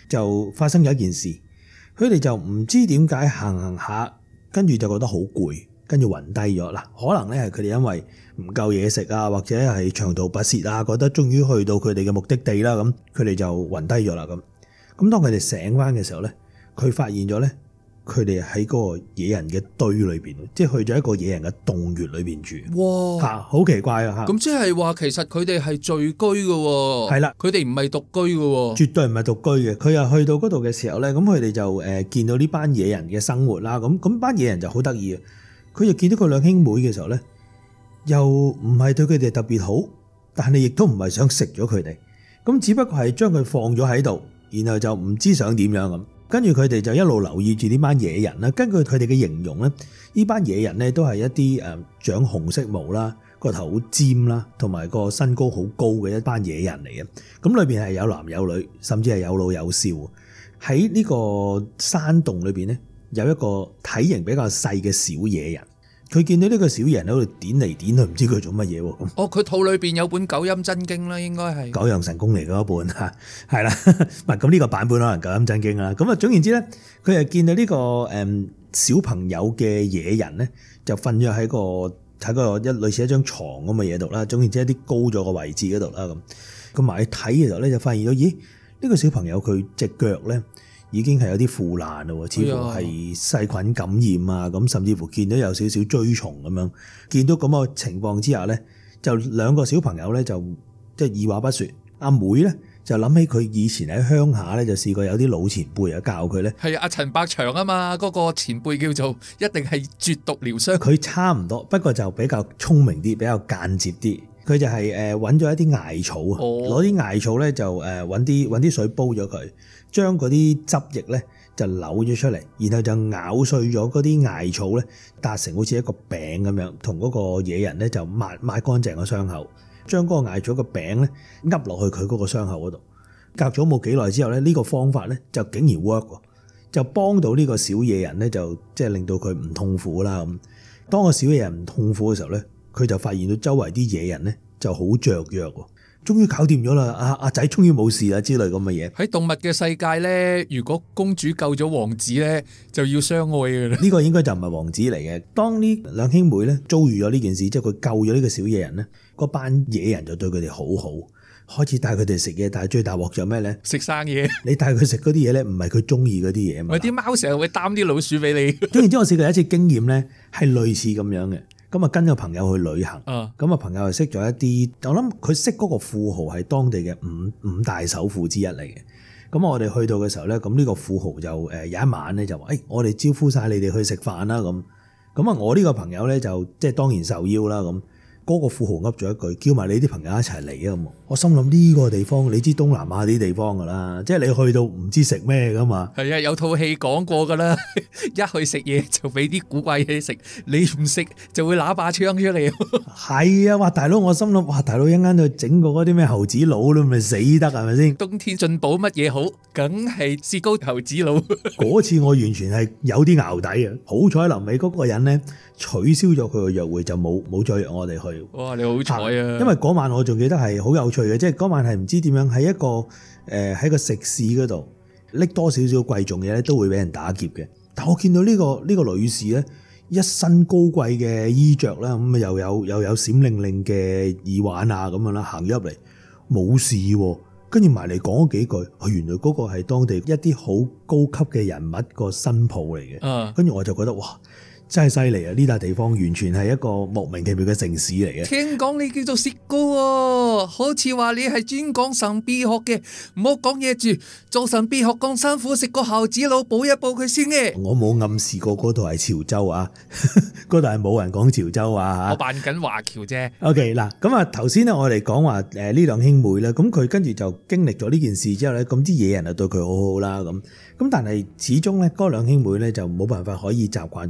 就發生咗一件事，佢哋就唔知點解行下，跟住就覺得好攰，跟住暈低咗。嗱，可能咧係佢哋因為唔夠嘢食啊，或者係長途跋涉啊，覺得終於去到佢哋嘅目的地啦，咁佢哋就暈低咗啦。咁當佢哋醒翻嘅時候咧，佢發現咗咧，佢哋喺嗰個野人嘅堆裏邊，即係去咗一個野人嘅洞穴裏邊住。 哇！ 嚇，好奇怪啊！嚇， 咁即係話其實佢哋係聚居嘅喎。 係啦， 佢哋唔係獨居嘅喎。 絕對唔係獨居嘅。佢又去到嗰度嘅時候咧，咁佢哋就見到呢班野人嘅生活啦。咁班野人就好得意啊！佢就見到佢兩兄妹嘅時候咧，又唔係對佢哋特別好，但係亦都唔係想食咗佢哋。咁只不過係將佢放咗喺度，然後就唔知想點樣咁。跟住佢哋就一路留意住呢班野人啦。根據佢哋嘅形容咧，呢班野人咧都係一啲長紅色毛啦，個頭好尖啦，同埋個身高好高嘅一班野人嚟嘅。咁裏邊係有男有女，甚至係有老有少。喺呢個山洞裏邊咧，有一個體型比較細嘅小野人。佢見到呢個小野人喺度點嚟點去，唔知佢做乜嘢喎。 哦，佢肚裏邊有本九陰真經啦，應該係九陽神功嚟嗰一本嚇，係啦。唔係咁呢個版本可能九陰真經啦。咁啊總言之咧，佢係見到呢個小朋友嘅野人咧，就瞓咗喺個類似一張床咁嘅嘢度啦。總言之一啲高咗嘅位置嗰度啦咁埋去睇嘅時候咧，就發現咗，咦？呢個小朋友佢隻腳咧已經係有啲腐爛咯，似乎係細菌感染啊，咁甚至乎見到有少少蛆蟲咁樣。見到咁嘅情況之下咧，就兩個小朋友咧就即係二話不說，阿妹咧就諗起佢以前喺鄉下咧就試過有啲老前輩啊教佢咧， 係阿陳百祥啊嘛，嗰個前輩叫做一定係絕毒療傷。 佢差唔多，不過就比較聰明啲，比較間接啲。佢就係揾咗一啲艾草啊，攞啲艾草咧就揾啲水煲咗佢，將嗰啲汁液咧就扭咗出嚟，然後就咬碎咗嗰啲艾草咧，搭成好似一個餅咁樣，同嗰個野人咧就抹乾淨個傷口，將嗰個艾草個餅咧噏落去佢嗰個傷口嗰度。隔咗冇幾耐之後咧，呢個方法咧就竟然 work 喎，就幫到呢個小野人咧，就即係令到佢唔痛苦啦咁。當個小野人唔痛苦嘅時候咧，佢就發現到周圍啲野人咧就好雀躍喎，終於搞掂咗啦！阿仔終於冇事啦之類咁嘅嘢。喺動物嘅世界咧，如果公主救咗王子咧，就要相愛㗎啦。 呢個應該就唔係王子嚟嘅。當呢兩兄妹咧遭遇咗呢件事，即係佢救咗呢個小野人咧，嗰班野人就對佢哋好好，開始帶佢哋食嘢。但係最大鑊就咩咧？ 食生嘢。 你帶佢食嗰啲嘢咧，唔係佢中意嗰啲嘢嘛。 啲貓成日會擔啲老鼠俾你。 總言之，我試過有一次經驗咧，係類似咁樣嘅。咁啊，跟個朋友去旅行，咁啊朋友就識咗一啲，我諗佢識嗰個富豪係當地嘅五大首富之一嚟嘅。咁我哋去到嘅時候咧，咁呢個富豪就有一晚咧就話，我哋招呼晒你哋去食飯啦咁。咁啊，我呢個朋友咧就即係當然受邀啦咁。嗰個富豪噏咗一句，叫埋你啲朋友一齊嚟啊！咁我心諗呢個地方，你知東南亞啲地方噶啦，即係你去到唔知食咩噶嘛。 係啊，有套戲講過噶啦，一去食嘢就俾啲古怪嘢食，你唔食就會拿把槍出嚟。 係啊，哇大佬，我心諗哇大佬一陣間就整個嗰啲咩猴子佬都咪死得係咪先？ 冬天進補乜嘢好？梗係雪糕猴子佬。 嗰次我完全係有啲淆底啊！好彩臨尾嗰個人咧取消咗佢個約會，就冇再約我哋去。 哇！你好彩啊！ 因為嗰晚我仲記得係好有趣嘅，即係嗰晚係唔知點樣喺一個喺個食肆嗰度拎多少少貴重嘢咧，都會俾人打劫嘅。但我見到呢個女士咧，一身高貴嘅衣着啦，咁啊又有閃靈靈嘅耳環啊咁樣啦，行咗入嚟冇事喎，跟住埋嚟講咗幾句，原來嗰個係當地一啲好高級嘅人物個新抱嚟嘅。跟住我就覺得哇！真係犀利啊！呢笪地方完全係一個莫名其妙嘅城市嚟嘅。 聽講你叫做薛高喎，好似話你係專講神秘學嘅，唔好講嘢住。做神秘學咁辛苦，食個猴子腦補一補佢先嘅。 我冇暗示過嗰度係潮州啊，嗰度係冇人講潮州啊。 我扮緊華僑啫。 OK 嗱，咁啊頭先咧我哋講話呢兩兄妹咧，咁佢跟住就經歷咗呢件事之後咧，咁啲野人就對佢好好啦咁。但係始終咧嗰兩兄妹咧就冇辦法可以習慣到啲野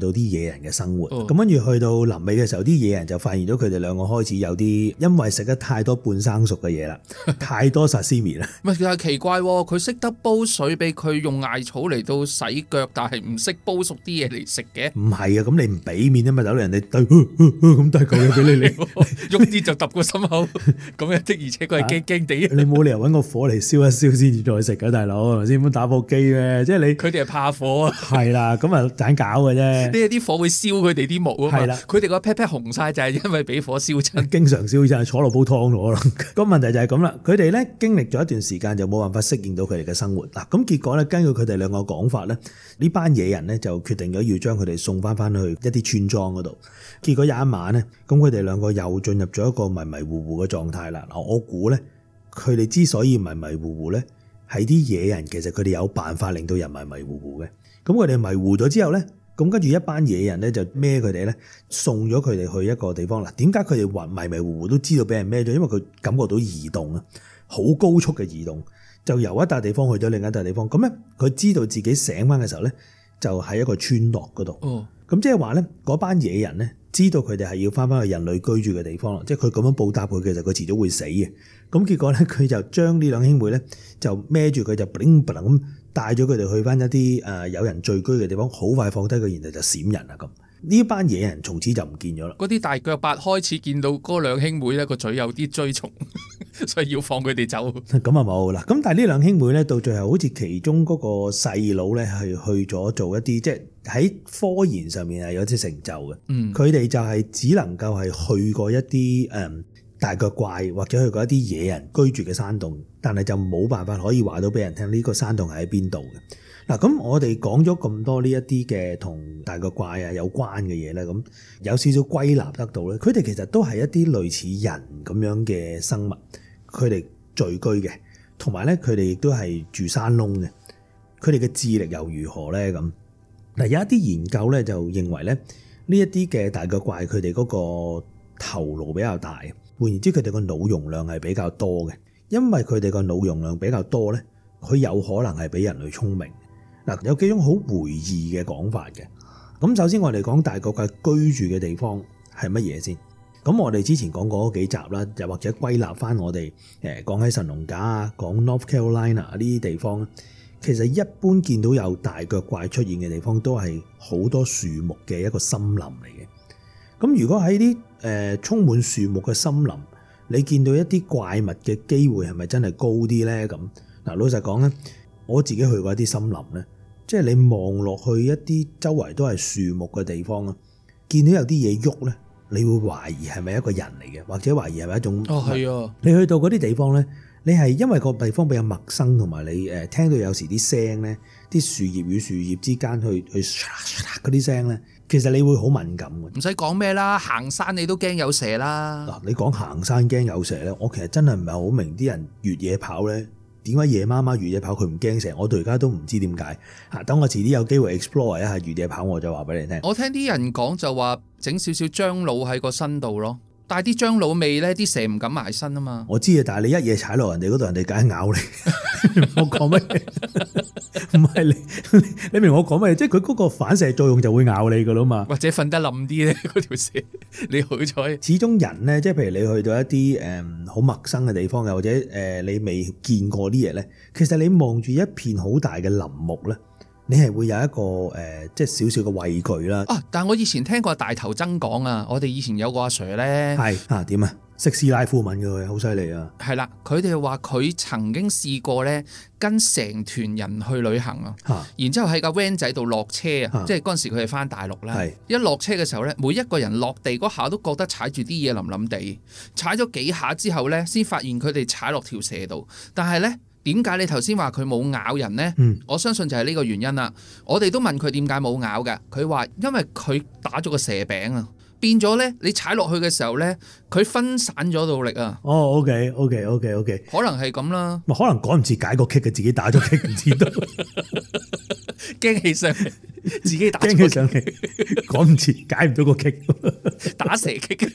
人嘅生活。咁跟住去到臨尾嘅時候，啲野人就發現咗佢哋兩個開始有啲因為食得太多半生熟嘅嘢啦，太多沙西米啦。 唔係，其實奇怪喎，佢識得煲水俾佢用艾草嚟到洗腳，但係唔識煲熟啲嘢嚟食嘅。 唔係啊，咁你唔俾面啊嘛，大佬人哋咁都係嚿嘢俾你， 喐啲就揼個心口，咁樣的，而且佢係驚驚地。 你冇理由揾個火嚟燒一燒先至再食㗎，大佬係咪先？咁打火機咩？即係你佢哋係怕火啊。 係啦，咁啊盞搞嘅啫。 啲火會燒佢哋啲毛啊嘛。係啦，佢哋個 pat pat 紅晒就係因為俾火燒親。經常燒親，坐落煲湯咗啦。個問題就係咁啦，佢哋咧經歷咗一段時間就冇辦法適應到佢哋嘅生活。嗱，咁結果咧，根據佢哋兩個講法咧，呢班野人咧就決定咗要將佢哋送翻去一啲村莊嗰度。結果有一晚咧，咁佢哋兩個又進入咗一個迷迷糊糊嘅狀態啦。嗱，我估咧，佢哋之所以迷迷糊糊咧，係啲野人其實佢哋有辦法令到人迷迷糊糊嘅。咁佢哋迷糊咗之後咧，咁跟住一班野人咧就孭佢哋咧，送咗佢哋去一個地方啦。點解佢哋迷迷糊糊都知道俾人孭咗？因為佢感覺到移動啊，好高速嘅移動，就由一笪地方去咗另一笪地方。咁咧，佢知道自己醒翻嘅時候咧，就喺一個村落嗰度。咁即係話咧，嗰班野人咧知道佢哋係要翻返去人類居住嘅地方啦。即係佢咁樣報答佢，其實佢遲早會死嘅。咁結果咧，佢就將呢兩兄妹咧就孭住佢就 bling bling 咁帶咗佢哋去翻一啲有人聚居嘅地方，好快放低佢，然後就閃人啦咁。呢班野人從此就唔見咗啦。嗰啲大腳八開始見到嗰兩兄妹咧個嘴有啲追蟲，所以要放佢哋走。咁啊冇啦。咁但係呢兩兄妹咧到最後好似其中嗰個細佬咧係去咗做一啲即係喺科研上面係有啲成就嘅。佢哋就係只能夠係去過一啲大腳怪或者去過一啲野人居住嘅山洞，但係就冇辦法可以話到俾人聽呢個山洞係喺邊度嘅。嗱，咁我哋講咗咁多呢一啲嘅同大腳怪啊有關嘅嘢咧，咁有少少歸納得到咧，佢哋其實都係一啲類似人咁樣嘅生物，佢哋聚居嘅，同埋咧佢哋亦都係住山窿嘅，佢哋嘅智力又如何咧？咁嗱，有一啲研究咧就認為咧呢一啲嘅大腳怪佢哋嗰個頭顱比較大，換言之佢哋個腦容量係比較多嘅，因為佢哋個腦容量比較多咧，佢有可能係比人類聰明。嗱，有幾種好迴異嘅講法嘅。咁首先我哋講大腳怪居住嘅地方係乜嘢先？咁我哋之前講過嗰幾集啦，又或者歸納翻我哋講喺神農架啊，講 North Carolina 呢啲地方，其實一般見到有大腳怪出現嘅地方都係好多樹木嘅一個森林嚟嘅。咁如果喺啲充滿樹木嘅森林，你見到一啲怪物嘅機會係咪真係高啲咧？咁嗱，老實講咧，我自己去過一啲森林咧。即係你望落去一啲周圍都係樹木嘅地方啊，見到有啲嘢喐咧，你會懷疑係咪一個人嚟嘅，或者懷疑係咪一種係啊？你去到嗰啲地方咧，你係因為個地方比較陌生，同埋你聽到有時啲聲咧，啲樹葉與樹葉之間去嗰啲聲咧，其實你會好敏感嘅。唔使講咩啦，行山你都驚有蛇啦。嗱，你講行山驚有蛇咧，我其實真係唔係好明啲人越野跑咧。點解夜媽媽越野跑佢唔驚蛇？我到而家都唔知點解。等我遲啲有機會 explore 一下越野跑，我就話俾你聽。我聽啲人講就話整少少樟腦喺個身度咯，但係啲樟腦味咧，啲蛇唔敢埋身啊嘛。我知啊，但係你一嘢踩落人哋嗰度，人哋梗係咬你。我講咩？唔係你明我講咩？即係佢嗰個反射作用就會咬你噶啦嘛。或者瞓得冧啲咧，嗰條蛇你好彩。始終人咧，即係譬如你去到一啲好陌生嘅地方，又或者你未見過啲嘢咧，其實你望住一片好大嘅林木咧，你係會有一個即係少少嘅畏懼啦。但係我以前聽過大頭曾講啊，我哋以前有個阿 Sir 咧，係點啊？識斯拉夫文嘅佢，好犀利啊！係啦，佢哋話佢曾經試過咧，跟成團人去旅行啊，然之後喺架 van 仔度落車啊，即係嗰陣時佢哋翻大陸啦。一落車嘅時候咧，每一個人落地嗰下都覺得踩住啲嘢腍腍地，踩咗幾下之後咧，先發現佢哋踩落條蛇度。但係咧，點解你頭先話佢冇咬人咧？我相信就係呢個原因啦。我哋都問佢點解冇咬㗎，佢話因為佢打咗個蛇餅啊。變咗咧，你踩落去嘅時候咧，佢分散咗到力啊！哦 ，OK，可能係咁啦。可能趕唔切解個 kick 嘅，自己打咗 kick 唔知道，驚起上嚟，自己打驚起上嚟，趕唔切解唔到個 kick，打蛇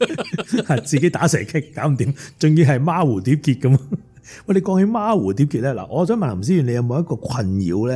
kick，自己打蛇 kick 搞唔掂，仲要係孖蝴蝶結咁。喂，你講起孖蝴蝶結咧，嗱，我想問林思遠，你有冇一個困擾咧？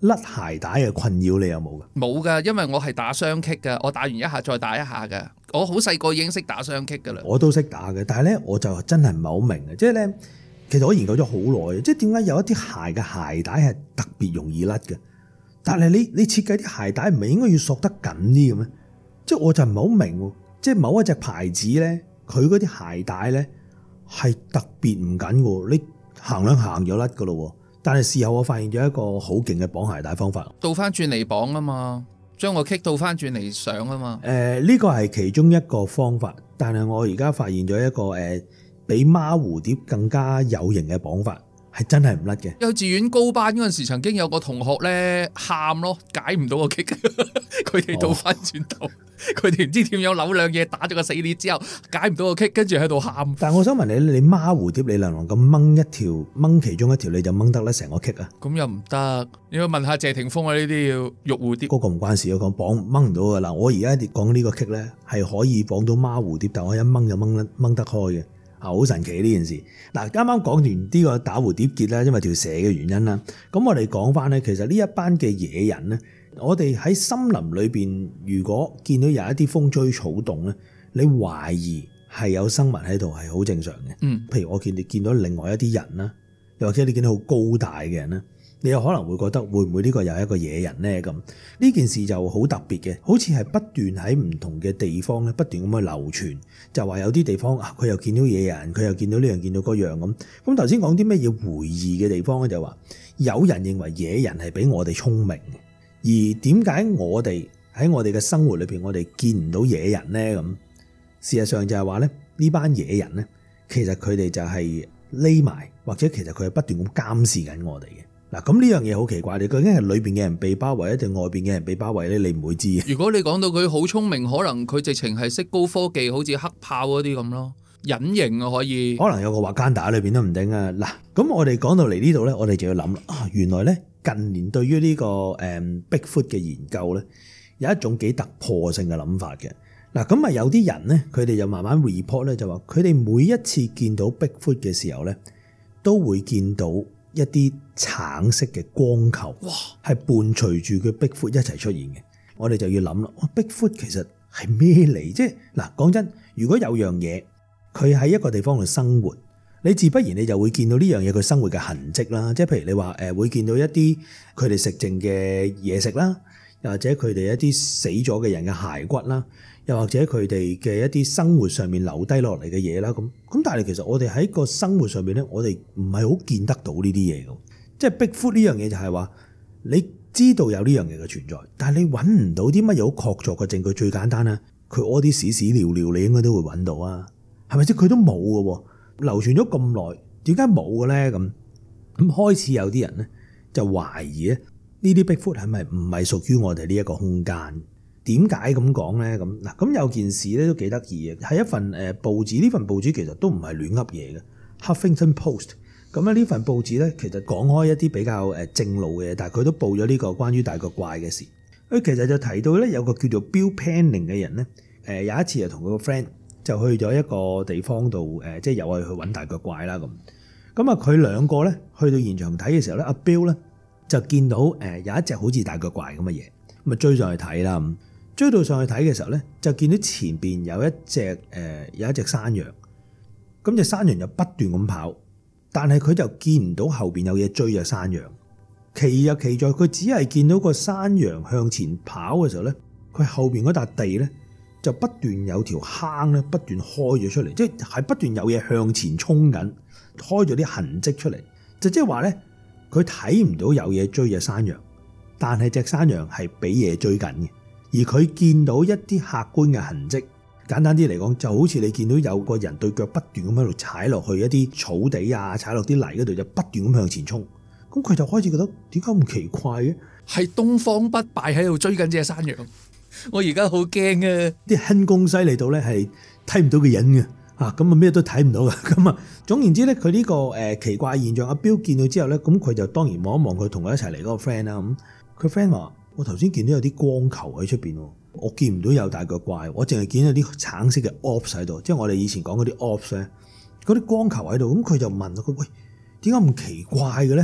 甩鞋帶嘅困擾你有冇㗎？ 冇㗎，因為我係打雙擊㗎，我打完一下再打一下㗎。我好細個已經識打雙擊㗎啦。 我都識打嘅，但係咧我就真係唔係好明嘅，即係咧其實我研究咗好耐，即係點解有一啲鞋嘅鞋帶係特別容易甩嘅？但係你設計啲鞋帶唔係應該要索得緊啲嘅咩？即係我就唔係好明喎，即係某一隻牌子咧，佢嗰啲鞋帶咧係特別唔緊喎，你行兩行就甩㗎咯喎。但係事後我發現咗一個好勁嘅綁鞋帶方法， 倒翻轉嚟綁啊嘛，將個 kick 倒翻轉嚟上啊嘛。 呢個係其中一個方法，但係我而家發現咗一個比孖蝴蝶更加有型嘅綁法，係真係唔甩嘅。 幼稚園高班嗰陣時，曾經有個同學咧喊咯，解唔到個 kick，佢哋倒翻轉頭。佢哋唔知點樣扭兩嘢打咗個死裂之後解唔到個 kick，跟住喺度喊。 但係我想問你孖蝴蝶你能唔能咁掹其中一條你就掹得甩成個 kick 啊？ 咁又唔得，你要問下謝霆鋒啊，呢啲要玉蝴蝶。 嗰個唔關事，我講綁掹唔到噶啦。我而家講呢個 kick 咧係可以綁到孖蝴蝶，但我一掹就掹得開嘅，好神奇呢件事。嗱，啱啱講完呢個打蝴蝶結啦，因為條蛇嘅原因啦。咁我哋講翻咧，其實呢一班嘅野人咧。我哋喺森林裏邊，如果見到有一啲風吹草動咧，你懷疑係有生物喺度，係好正常嘅。譬如我見到另外一啲人啦，又或者你見到好高大嘅人啦，你有可能會覺得會唔會呢個又係一個野人咧？咁呢件事就好特別嘅，好似係不斷喺唔同嘅地方咧，不斷咁去流傳，就話有啲地方佢又見到野人，佢又見到呢樣見到嗰樣咁。咁頭先講啲咩嘢回憶嘅地方咧，就話有人認為野人係比我哋聰明嘅。而點解我哋喺我哋嘅生活裏邊，我哋見唔到野人呢？咁事實上就係話咧，呢班野人咧，其實佢哋就係匿埋，或者其實佢係不斷咁監視緊我哋嘅。嗱，咁呢樣嘢好奇怪，你究竟係裏邊嘅人被包圍，定外邊嘅人被包圍咧？你唔會知嘅。 如果你講到佢好聰明，可能佢直情係識高科技，好似黑豹嗰啲咁咯，隱形啊可以。可能有個瓦干達裏邊都唔定啊。嗱，咁我哋講到嚟呢度咧，我哋就要諗啦。原來咧。近年對於呢個Bigfoot 嘅研究咧，有一種幾突破性嘅諗法嘅。嗱，咁啊有啲人咧，佢哋就慢慢 report 咧，就話佢哋每一次見到 Bigfoot 嘅時候咧，都會見到一啲橙色嘅光球，哇，係伴隨住佢 Bigfoot 一齊出現嘅。我哋就要諗啦，Bigfoot 其實係咩嚟？即係嗱，講真，如果有樣嘢佢喺一個地方度生活，你自不然你就會見到呢樣嘢佢生活嘅痕跡啦，即係譬如你話會見到一啲佢哋食剩嘅嘢食啦，又或者佢哋一啲死咗嘅人嘅骸骨啦，又或者佢哋嘅一啲生活上面留低落嚟嘅嘢啦，咁但係其實我哋喺個生活上面咧，我哋唔係好見得到呢啲嘢嘅，即係 Bigfoot 呢樣嘢就係話你知道有呢樣嘢嘅存在，但係你揾唔到啲乜嘢好確鑿嘅證據。最簡單啦，佢屙啲屎屎尿尿，你應該都會揾到啊，係咪？即係佢都冇嘅喎。流傳咗咁耐，點解冇嘅咧？咁開始有啲人咧就懷疑咧，呢啲 Bigfoot 係咪唔係屬於我哋呢一個空間？點解咁講咧？咁有件事咧都幾得意嘅，係一份報紙。呢份報紙其實都唔係亂噏嘢嘅， Huffington Post。咁呢份報紙咧，其實講開一啲比較正路嘅嘢，但係佢都報咗呢個關於大腳怪嘅事。佢其實就提到咧，有個叫做 Bill Penning 嘅人咧，有一次就同佢個 friend。就去咗一個地方度，即係又係去揾大腳怪啦咁。咁啊，佢兩個咧去到現場睇嘅時候咧，阿 Bill 咧就見到有一隻好似大腳怪咁嘅嘢，咁啊追上去睇啦。追到上去睇嘅時候咧，就見到前邊有一隻山羊。咁隻山羊又不斷咁跑，但係佢就見唔到後邊有嘢追隻山羊。奇就奇在佢只係見到個山羊向前跑嘅時候咧，佢後邊嗰笪地咧，就不斷有條坑咧，不斷開咗出嚟，即係不斷有嘢向前衝緊，開咗啲痕跡出嚟，就即係話咧，佢睇唔到有嘢追隻山羊，但係隻山羊係俾嘢追緊嘅，而佢見到一啲客觀嘅痕跡。簡單啲嚟講，就好似你見到有個人對腳不斷咁喺度踩落去一啲草地啊，踩落啲泥嗰度，就不斷咁向前衝。咁佢就開始覺得點解咁奇怪嘅？係東方不敗喺度追緊隻山羊。我而家好驚啊！啲輕功犀利到咧係睇唔到嘅人嘅，咁啊咩都睇唔到嘅。咁啊總言之咧，佢呢個奇怪現象，阿標見到之後咧，咁佢就當然望一望佢同佢一齊嚟嗰個 friend 啦。咁佢 friend 話：我頭先見到有啲光球喺出邊，我見唔到有大腳怪，我淨係見到啲橙色嘅 orbs 喺度，即係我哋以前講嗰啲 orbs咧，嗰啲光球喺度。咁佢就問佢：喂，點解咁奇怪嘅咧？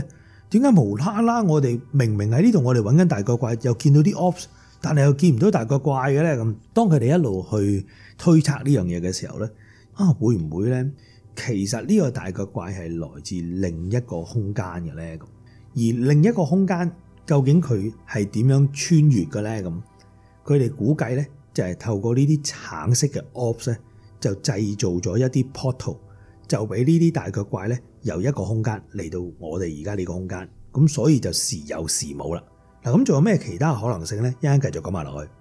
點解無啦啦我哋明明喺呢度我哋揾緊大腳怪，又見到啲 ops， 但係又見唔到大腳怪嘅咧？咁當佢哋一路去推測呢樣嘢嘅時候咧，會唔會咧？其實呢個大腳怪係來自另一個空間嘅咧？咁而另一個空間究竟佢係點樣穿越嘅咧？咁佢哋估計咧就係透過呢啲橙色嘅 ops 咧，就製造咗一啲 portal， 就俾呢啲大腳怪咧由一個空間嚟到我哋而家呢個空間，咁所以就時有時冇啦。嗱，咁仲有咩其他可能性咧？一陣繼續講埋落去。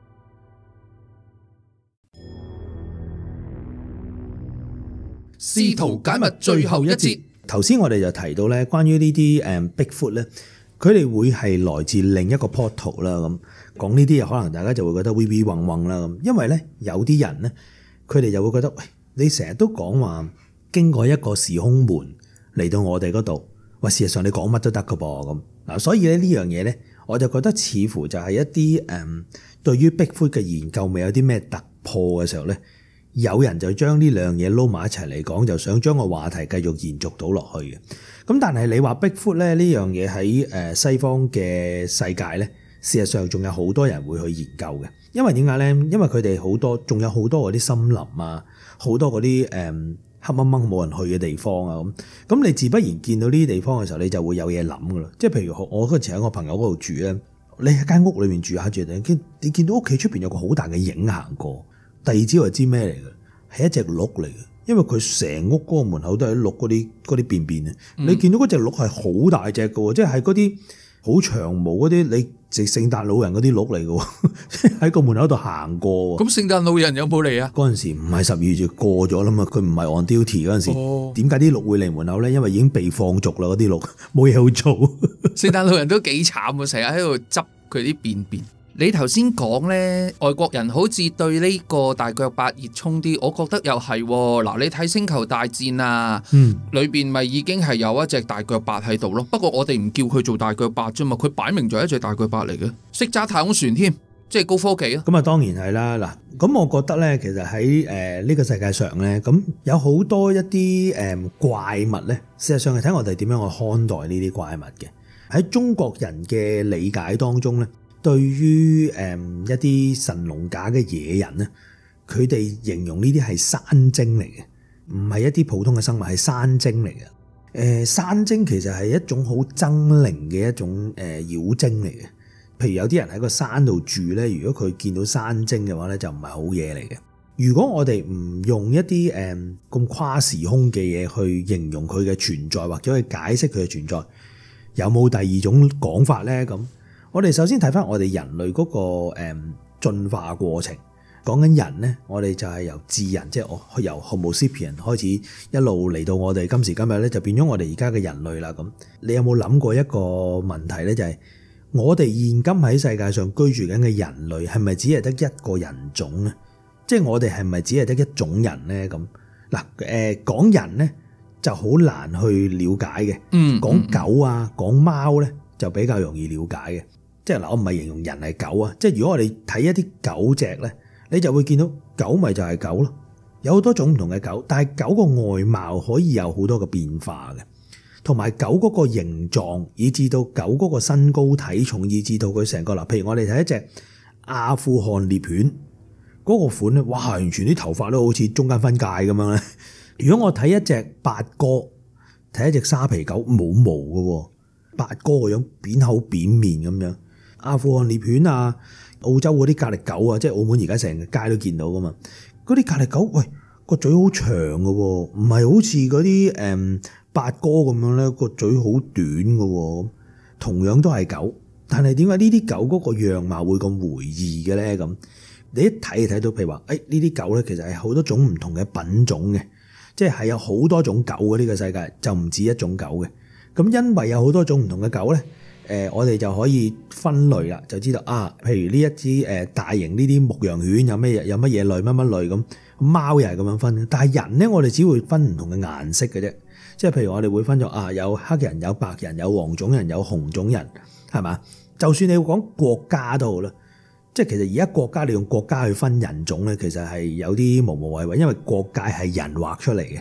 試圖解密最後一節。 頭先我哋就提到咧，關於呢啲Bigfoot 咧，佢哋會係來自另一個 portal 啦。咁講呢啲嘢，可能大家就會覺得 微微嗡嗡啦。咁因為咧有啲人咧，佢哋就會覺得，喂，你成日都講話經過一個時空門嚟到我哋嗰度，喂，事實上你講乜都得噶噃咁嗱。所以咧呢樣嘢咧，我就覺得似乎就係一啲對於 Bigfoot 嘅研究未有啲咩突破嘅時候咧。有人就將呢兩嘢撈埋一齊嚟講，就想將個話題繼續延續到落去嘅。咁但係你話 Bigfoot 咧呢樣嘢喺西方嘅世界咧，事實上仲有好多人會去研究嘅。因為點解咧？因為佢哋好多，仲有好多嗰啲森林啊，好多嗰啲黑掹掹冇人去嘅地方啊。咁你自不然見到呢啲地方嘅時候，你就會有嘢諗噶啦。即係譬如我嗰時喺我朋友嗰度住咧，你喺間屋裏面住下住，你見到屋企出邊有個好大嘅影行過。第二朝就知咩嚟嘅，係一隻鹿嚟嘅，因為佢成屋嗰個門口都係鹿嗰啲便便啊！你見到嗰隻鹿係好大隻嘅，即係嗰啲好長毛嗰啲，你食聖誕老人嗰啲鹿嚟嘅，即係喺個門口度行過。咁聖誕老人有冇嚟啊？ 嗰陣時唔係12月過咗啦嘛，佢唔係 on duty 嗰陣時。點解啲鹿會嚟門口咧？因為已經被放逐啦，嗰啲鹿冇嘢好做。 聖誕老人都幾慘啊，成日喺度執佢啲便便。你頭先講呢，外國人好似對呢個大腳八熱衷啲，我覺得又係嗱。你睇星球大戰啊，裏邊咪已經係有一隻大腳八喺度咯。不過我哋唔叫佢做大腳八啫嘛，佢擺明就係一隻大腳八嚟嘅，識揸太空船添，即係高科技啊。咁啊，當然係啦。嗱，咁我覺得呢，其實喺呢個世界上呢，咁有好多一啲怪物呢，事實上係睇我哋點樣去看待呢啲怪物嘅。喺中國人嘅理解當中呢，對於一啲神龍架嘅野人咧，佢哋形容呢啲係山精嚟嘅，唔係一啲普通嘅生物，係山精嚟嘅。山精其實係一種好猙獰嘅一種妖精嚟嘅。譬如有啲人喺個山度住咧，如果佢見到山精嘅話咧，就唔係好嘢嚟嘅。如果我哋唔用一啲咁跨時空嘅嘢去形容佢嘅存在，或者去解釋佢嘅存在，有冇第二種講法咧？咁我哋首先睇翻我哋人類嗰個進化過程，講緊人咧，我哋就係由智人，即係由 Homo sapien 開始一路嚟到我哋今時今日咧，就變咗我哋而家嘅人類啦。咁你有冇諗過一個問題咧？就係我哋現今喺世界上居住緊嘅人類係咪只係得一個人種咧？即係我哋係咪只係得一種人咧？咁嗱，講人咧就好難去了解嘅。講狗啊，講貓咧就比較容易了解嘅。即係嗱，我唔係形容人係狗啊，即係如果我哋睇一啲狗隻咧，你就會見到狗咪就係狗咯，有好多種唔同嘅狗，但係狗個外貌可以有好多嘅變化嘅，同埋狗嗰個形狀，以至到狗嗰個身高體重，以至到佢成個嗱，譬如我哋睇一隻阿富汗獵犬嗰個款咧，哇，完全啲頭髮都好似中間分界咁樣咧。如果我睇一隻八哥，睇一隻沙皮狗冇毛嘅，八哥個樣扁口扁面咁樣。阿富汗獵犬啊，澳洲嗰啲格力狗啊，即係澳門而家成個街都見到噶嘛。嗰啲格力狗，喂，個嘴好長嘅，唔係好似嗰啲八哥咁樣咧，個嘴好短嘅。同樣都係狗，但係點解呢啲狗嗰個樣貌會咁回異嘅咧？咁你一睇就睇到，譬如話，呢啲狗咧，其實係好多種唔同嘅品種嘅，即係有好多種狗嘅呢個世界，就唔止一種狗嘅。咁因為有好多種唔同嘅狗咧。我哋就可以分類啦，就知道啊，譬如呢一支大型呢啲牧羊犬有乜嘢類乜類咁，貓又係咁樣分。但係人咧，我哋只會分唔同嘅顏色嘅啫，即係譬如我哋會分咗有黑人、有白人、有黃種人、有紅種人，係嘛？就算你講國家都好啦，即係其實而家國家你用國家去分人種咧，其實係有啲無謂，因為國界係人畫出嚟嘅。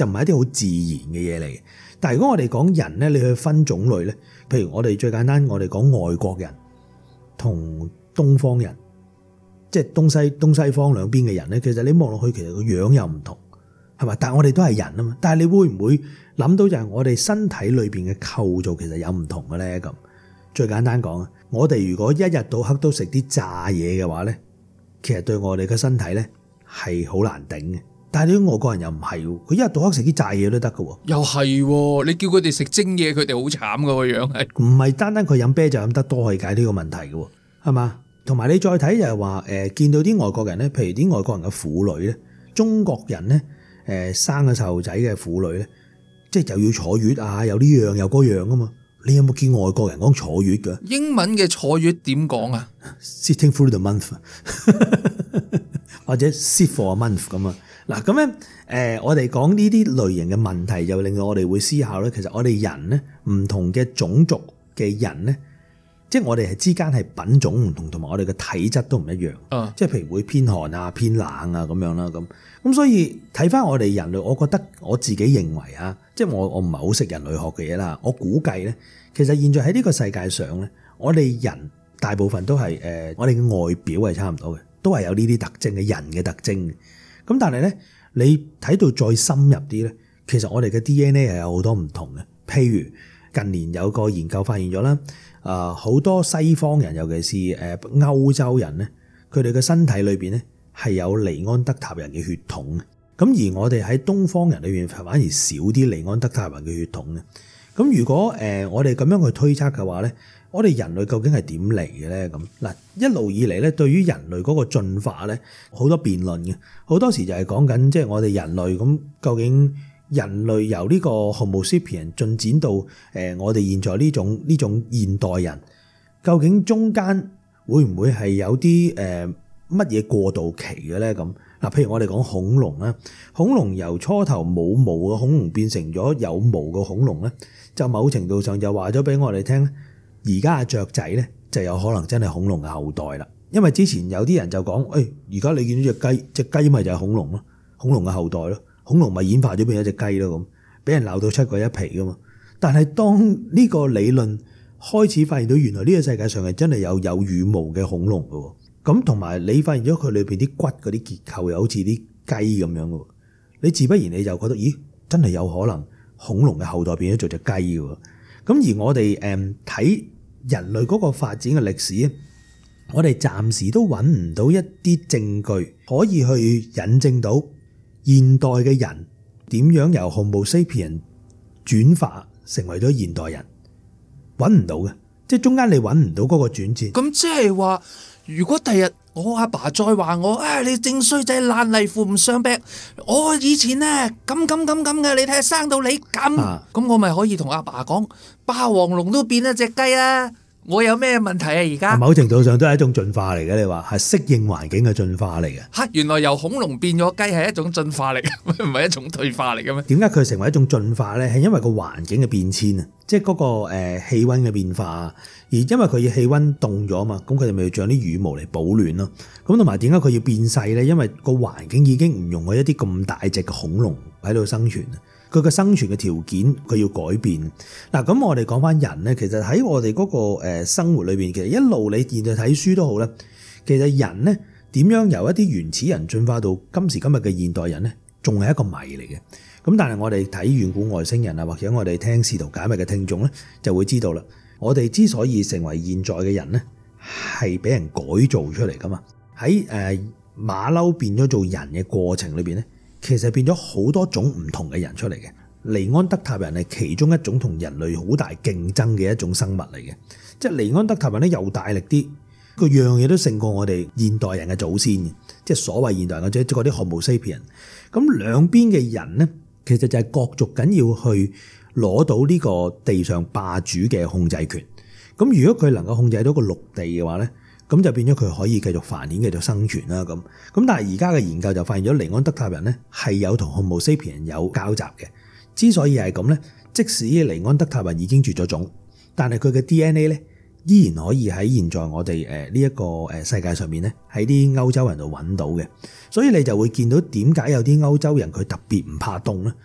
就唔係一啲好自然嘅嘢嚟。但係如果我哋講人咧，你去分種類咧，譬如我哋最簡單，我哋講外國人同東方人，即係東西方兩邊嘅人咧，其實你望落去其實個樣又唔同，係嘛？但係我哋都係人啊嘛。但係你會唔會諗到就係我哋身體裏邊嘅構造其實有唔同嘅咧？咁最簡單講啊，我哋如果一日到黑都食啲炸嘢嘅話咧，其實對我哋嘅身體咧係好難頂嘅。但係啲外國人又唔係喎，佢一日到黑食啲炸嘢都得㗎喎。 又係喎，你叫佢哋食蒸嘢，佢哋好慘㗎個樣係。 唔係單單佢飲啤酒飲得多可以解呢個問題嘅喎，係嘛？同埋你再睇就係話見到啲外國人咧，譬如啲外國人嘅婦女咧，中國人咧生個細路仔嘅婦女咧，即係又要坐月啊，有呢樣又嗰樣啊嘛。你有冇見外國人講坐月㗎？ 英文嘅坐月點講啊 ？Sitting through the month 或者 sit for a month 咁啊。嗱咁咧我哋講呢啲類型嘅問題，就令到我哋會思考咧。其實我哋人咧，唔同嘅種族嘅人咧，即係我哋係之間係品種唔同，同埋我哋嘅體質都唔一樣。即係譬如會偏寒啊、偏冷啊咁樣啦。咁所以睇翻我哋人類，我覺得我自己認為啊，即係我唔係好識人類學嘅嘢啦。我估計咧，其實現在喺呢個世界上咧，我哋人大部分都係我哋嘅外表係差唔多嘅，都係有呢啲特徵嘅人嘅特徵嘅。咁但係咧，你睇到再深入啲咧，其實我哋嘅 DNA 係有好多唔同嘅。譬如近年有個研究發現咗啦，好多西方人，尤其是歐洲人咧，佢哋嘅身體裏邊咧係有尼安德塔人嘅血統嘅。咁而我哋喺東方人裏邊反而少啲尼安德塔人嘅血統嘅。咁如果我哋咁樣去推測嘅話咧，我哋人類究竟係點嚟嘅咧？咁嗱，一路以嚟咧，對於人類嗰個進化咧，好多辯論嘅，好多時就係講緊即係我哋人類咁，究竟人類由呢個 Homo sapien 進展到我哋現在呢種現代人，究竟中間會唔會係有啲乜嘢過渡期嘅咧？咁嗱，譬如我哋講恐龍啦，恐龍由初頭冇毛嘅恐龍變成咗有毛嘅恐龍咧，就某程度上就話咗俾我哋聽咧。而家嘅雀仔咧就有可能真係恐龍嘅後代啦，因為之前有啲人就講，而家你見到隻雞咪就係恐龍咯，恐龍嘅後代咯，恐龍咪演化咗變咗隻雞咯，咁俾人鬧到七個一皮噶嘛。但係當呢個理論開始發現到原來呢個世界上係真係有羽毛嘅恐龍㗎，咁同埋你發現咗佢裏邊啲骨嗰啲結構又好似啲雞咁樣㗎，你自不然你就覺得，咦，真係有可能恐龍嘅後代變咗做隻雞㗎。咁而我哋睇人類嗰個發展嘅歷史，我哋暫時都揾唔到一啲證據可以去引證到現代嘅人點樣由 Homo sapien 轉化成為咗現代人，揾唔到嘅，即係中間你揾唔到嗰個轉折。咁即係話，如果第日我阿爸再話我，你正衰仔爛泥扶唔上壁，我以前咧咁嘅，你睇下生到你咁，咁我咪可以同阿爸講，霸王龍都變咗隻雞啊！我有咩問題啊？而家某程度上都係一種進化嚟嘅，你話係適應環境嘅進化嚟嘅。 嚇，原來由恐龍變咗雞係一種進化嚟嘅，唔係一種退化嚟嘅咩？ 點解佢成為一種進化咧？係因為個環境嘅變遷啊，即係嗰個氣温嘅變化，而因為佢要氣温凍咗嘛，咁佢哋咪要長啲羽毛嚟保暖咯。咁同埋點解佢要變細咧？因為個環境已經唔容許一啲咁大隻嘅恐龍喺度生存。佢嘅生存嘅條件佢要改變。嗱，咁我哋講翻人咧，其實喺我哋嗰個生活裏邊，其實一路你現在睇書都好啦。其實人咧點樣由一啲原始人進化到今時今日嘅現代人咧，仲係一個謎嚟嘅。咁但係我哋睇遠古外星人啊，或者我哋聽試圖解密嘅聽眾咧，就會知道啦。我哋之所以成為現在嘅人咧，係俾人改造出嚟噶嘛。喺馬騮變咗做人嘅過程裏邊咧，其實變咗好多種唔同嘅人出嚟嘅。尼安德塔人係其中一種同人類好大競爭嘅一種生物嚟嘅，即係尼安德塔人咧又大力啲，個樣嘢都勝過我哋現代人嘅祖先嘅，即係所謂現代人即係嗰啲 Homo sapien。咁兩邊嘅人咧，其實就係角逐緊要去攞到呢個地上霸主嘅控制權。咁如果佢能夠控制到個陸地嘅話咧，咁就變咗佢可以繼續繁衍、繼續生存啦。咁但係而家嘅研究就發現咗尼安德塔人咧係有同 Homo sapien 有交集嘅。之所以係咁咧，即使尼安德塔人已經絕咗種，但係佢嘅 DNA 咧依然可以喺現在我哋呢一個世界上面咧喺啲歐洲人度揾到嘅。所以你就會見到點解有啲歐洲人佢特別唔怕凍咧，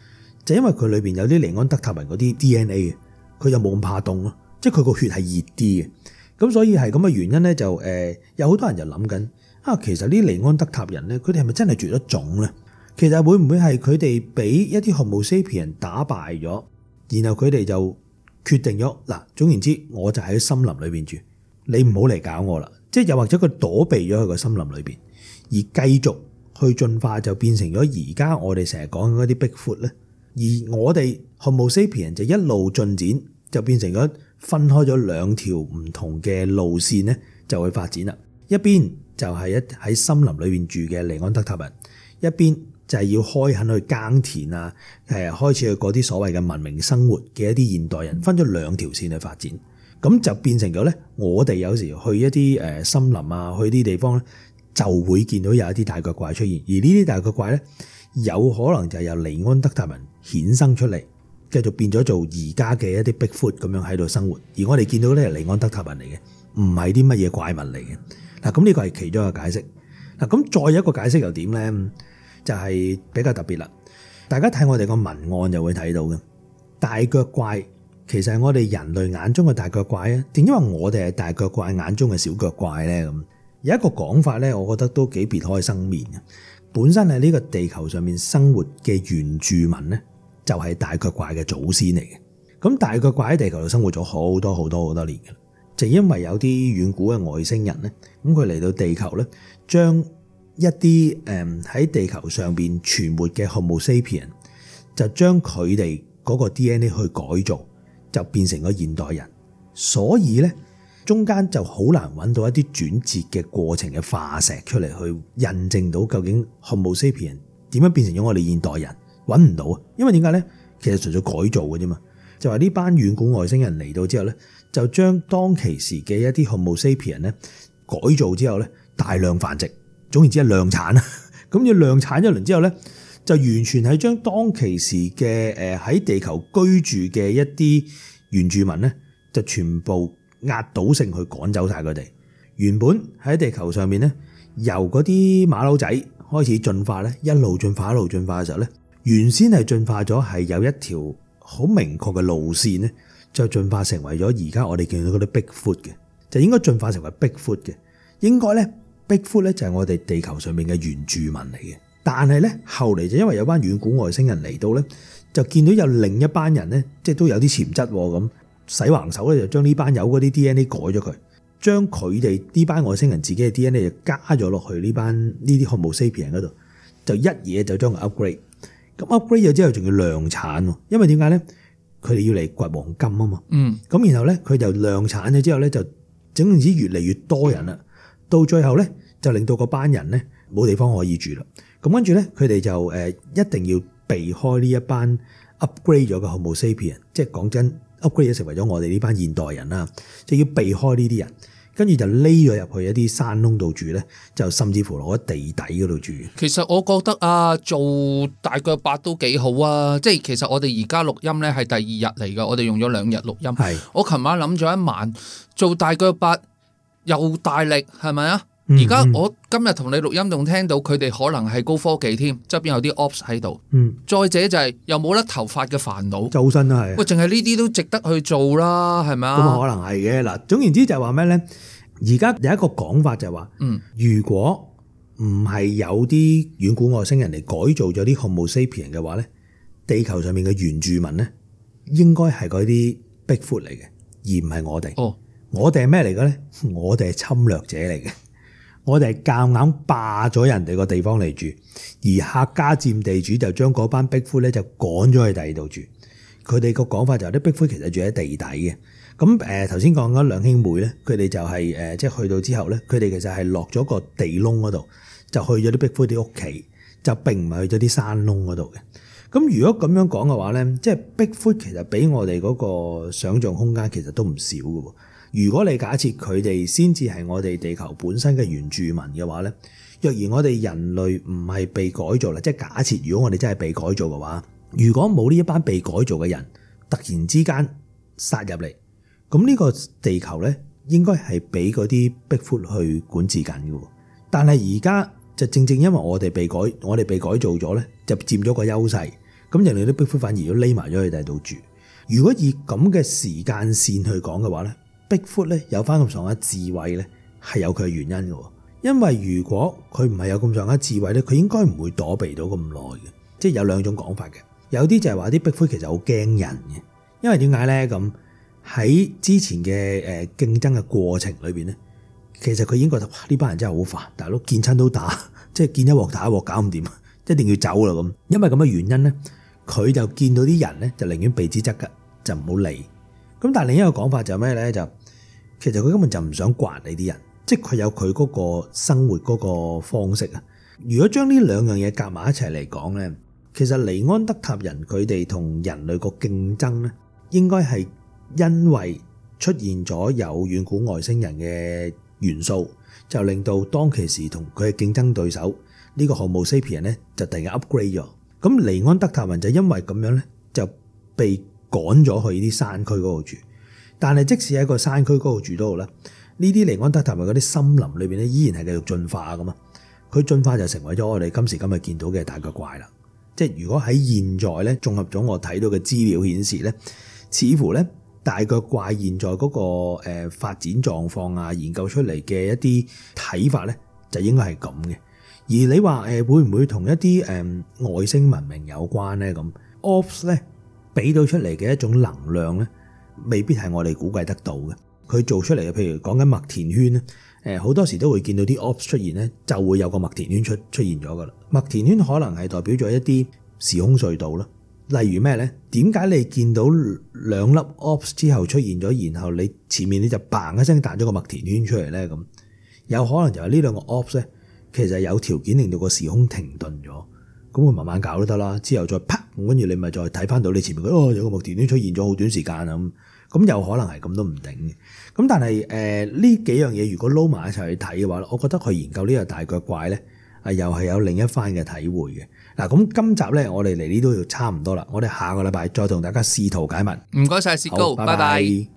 就因為佢裏邊有啲尼安德塔人嗰啲 DNA 嘅，佢就冇咁怕凍咯，即係佢個血係熱啲嘅。咁所以係咁嘅原因咧，就有好多人就諗緊其實呢尼安德塔人咧，佢哋係咪真係絕咗種咧？其實會唔會係佢哋俾一啲 Homo sapien 打敗咗，然後佢哋就決定咗嗱，總言之，我就喺森林裏邊住，你唔好嚟搞我啦。即係又或者佢躲避咗喺個森林裏邊，而繼續去進化，就變成咗而家我哋成日講嗰啲 Bigfoot 咧。而我哋 Homo sapien 就一路進展，就變成咗分開咗兩條唔同嘅路線咧，就會發展啦。一邊就係喺森林裏邊住嘅尼安德塔人，一邊就係要開墾去耕田啊，開始去過啲所謂嘅文明生活嘅一啲現代人，分咗兩條線去發展，咁就變成咗咧，我哋有時去一啲森林啊，去啲地方咧，就會見到有一啲大腳怪出現，而呢啲大腳怪咧，有可能就係由尼安德塔人衍生出嚟，繼續變咗做而家嘅一啲 Bigfoot 咁樣喺度生活，而我哋見到咧係尼安德塔人嚟嘅，唔係啲乜嘢怪物嚟嘅。嗱，咁呢個係其中一個解釋。嗱，咁再有一個解釋又點咧？就係比較特別啦。大家睇我哋個文案就會睇到嘅，大腳怪其實係我哋人類眼中嘅大腳怪啊，定因為我哋係大腳怪眼中嘅小腳怪咧？咁有一個講法咧，我覺得都幾別開生面嘅。本身喺呢個地球上面生活嘅原住民咧，就係大腳怪嘅祖先嚟嘅。咁大腳怪喺地球度生活咗好多年嘅，就因為有啲遠古嘅外星人咧，咁佢嚟到地球咧，將一啲喺地球上邊存活嘅 Homo sapien 就將佢哋嗰個 DNA 去改造，就變成咗現代人。所以咧，中間就好難揾到一啲轉折嘅過程嘅化石出嚟，去印證到究竟 Homo sapien 點樣變成咗我哋現代人，揾唔到啊！因為點解咧？其實純粹改造嘅啫嘛。就話呢班遠古外星人嚟到之後咧，就將當其時嘅一啲 Homo sapien 咧改造之後咧，大量繁殖。總言之係量產啊，咁要量產一輪之後咧，就完全係將當其時嘅喺地球居住嘅一啲原住民咧，就全部壓倒性去趕走晒佢哋。原本喺地球上面咧，由嗰啲馬騮仔開始進化咧，一路進化嘅時候咧，原先係進化咗係有一條好明確嘅路線咧，就進化成為咗而家我哋見到嗰啲 Bigfoot 嘅，就應該進化成為 Bigfoot 嘅，應該咧。Bigfoot 咧就係我哋地球上面嘅原住民嚟嘅，但係咧後嚟就因為有班遠古外星人嚟到咧，就見到有另一班人咧，即係都有啲潛質咁，洗橫手咧就將呢班友嗰啲 DNA 改咗佢，將佢哋呢班外星人自己嘅 DNA 就加咗落去呢啲 Homo sapien 嗰度，就一嘢就將佢 upgrade。咁 upgrade 咗之後仲要量產，因為點解咧？佢哋要嚟掘黃金啊嘛。咁然後咧佢就量產咗之後咧，就整完之越嚟越多人啦。到最後咧，就令到嗰班人咧冇地方可以住啦。咁跟住咧，佢哋就一定要避開呢一班 upgrade 咗嘅 Homo sapien，即係講真 upgrade 咗成為咗我哋呢班現代人啦，就要避開呢啲人，跟住就匿咗入去一啲山窿度住咧，就甚至乎落喺地底嗰度住。 其實我覺得啊，做大腳八都幾好啊！即係其實我哋而家錄音咧係第二日嚟㗎，我哋用咗2日錄音。係我琴晚諗咗一晚做大腳八。又大力係咪啊？而家我今日同你錄音仲聽到佢哋可能係高科技添，側邊有啲 ops 喺度。再者就係又冇甩頭髮嘅煩惱，周身都係。喂，淨係呢啲都值得去做啦，係咪啊？ 咁可能係嘅嗱。總言之就係話咩咧？而家有一個講法就係話，如果唔係有啲遠古外星人嚟改造咗啲 Homo sapien 嘅話咧，地球上面嘅原住民咧，應該係嗰啲 Bigfoot 嚟嘅，而唔係我哋。哦。我哋係咩嚟嘅咧？我哋係侵略者嚟嘅，我哋係夾硬霸咗人哋個地方嚟住，而客家佔地主就將嗰班 Bigfoot 咧就趕咗去第二度住。佢哋個講法就係啲 Bigfoot 其實住喺地底嘅。咁頭先講嗰兩兄妹咧，佢哋就係即係去到之後咧，佢哋其實係落咗個地窿嗰度，就去咗啲 Bigfoot 啲屋企，就並唔係去咗啲山窿嗰度嘅。咁如果咁樣講嘅話咧，即係 Bigfoot 其實俾我哋嗰個想像空間其實都唔少嘅喎。如果你假設佢哋先至係我哋地球本身嘅原住民嘅話咧，若然我哋人類唔係被改造啦，即係假設如果我哋真係被改造嘅話，如果冇呢一班被改造嘅人突然之間殺入嚟，咁呢個地球咧應該係俾嗰啲 Bigfoot 去管治緊嘅。但係而家就正正因為我哋被改造咗咧，就佔咗個優勢。咁咁人哋啲 Bigfoot 反而都匿埋咗去第度住。如果以咁嘅時間線去講嘅話咧，Bigfoot 咧有翻咁上下智慧咧，係有佢嘅原因嘅。因為如果佢唔係有咁上下智慧咧，佢應該唔會躲避到咁耐嘅。即係有兩種講法嘅，有啲就係話啲 Bigfoot 其實好驚人嘅，因為點解咧？咁喺之前嘅競爭嘅過程裏邊咧，其實佢已經覺得哇呢班人真係好煩，大佬見親都打，即係見一鑊打一鑊搞唔掂，一定要走啦咁。因為咁嘅原因咧，佢就見到啲人咧就寧願避之則吉，就唔好理。咁但係另一個講法就係咩咧？就其實佢根本就唔想刮你啲人，即係佢有佢嗰個生活嗰個方式啊。如果將呢兩樣嘢夾埋一齊嚟講咧，其實尼安德塔人佢哋同人類個競爭咧，應該係因為出現咗有遠古外星人嘅元素，就令到當其時同佢嘅競爭對手呢個 Homo sapien 咧就突然間 upgrade 咗。咁尼安德塔人就因為咁樣咧就被趕咗去啲山區嗰度住。但係即使喺個山區嗰度住都好啦，呢啲尼安德塔人嗰啲森林裏邊咧依然係繼續進化噶嘛。佢進化就成為咗我哋今時今日見到嘅大腳怪啦。即係如果喺現在咧，綜合咗我睇到嘅資料顯示咧，似乎咧大腳怪現在嗰個發展狀況啊，研究出嚟嘅一啲睇法咧，就應該係咁嘅。而你話會唔會同一啲外星文明有關咧？咁 Ops 咧俾到出嚟嘅一種能量咧，未必係我哋估計得到嘅。佢做出嚟嘅，譬如講緊麥田圈咧，好多時都會見到啲 Ops 出現咧，就會有個麥田圈出現咗噶啦。麥田圈可能係代表咗一啲時空隧道啦。例如咩咧？點解你見到兩粒 Ops 之後出現咗，然後你前面你就嘭一聲彈咗個麥田圈出嚟咧？咁有可能就係呢兩個 Ops 咧，其實有條件令到個時空停頓咗，咁會慢慢搞都得啦。之後再啪，跟住你咪再睇翻到你前面有個麥田圈出現咗好短時間啊咁有可能係咁都唔定嘅。咁但係呢幾樣嘢如果撈埋一齊去睇嘅話，我覺得佢研究呢個大腳怪咧，又係有另一番嘅體會嘅。嗱，咁今集咧我哋嚟呢度差唔多啦，我哋下個禮拜再同大家試圖解密。 唔該晒薛高，拜拜。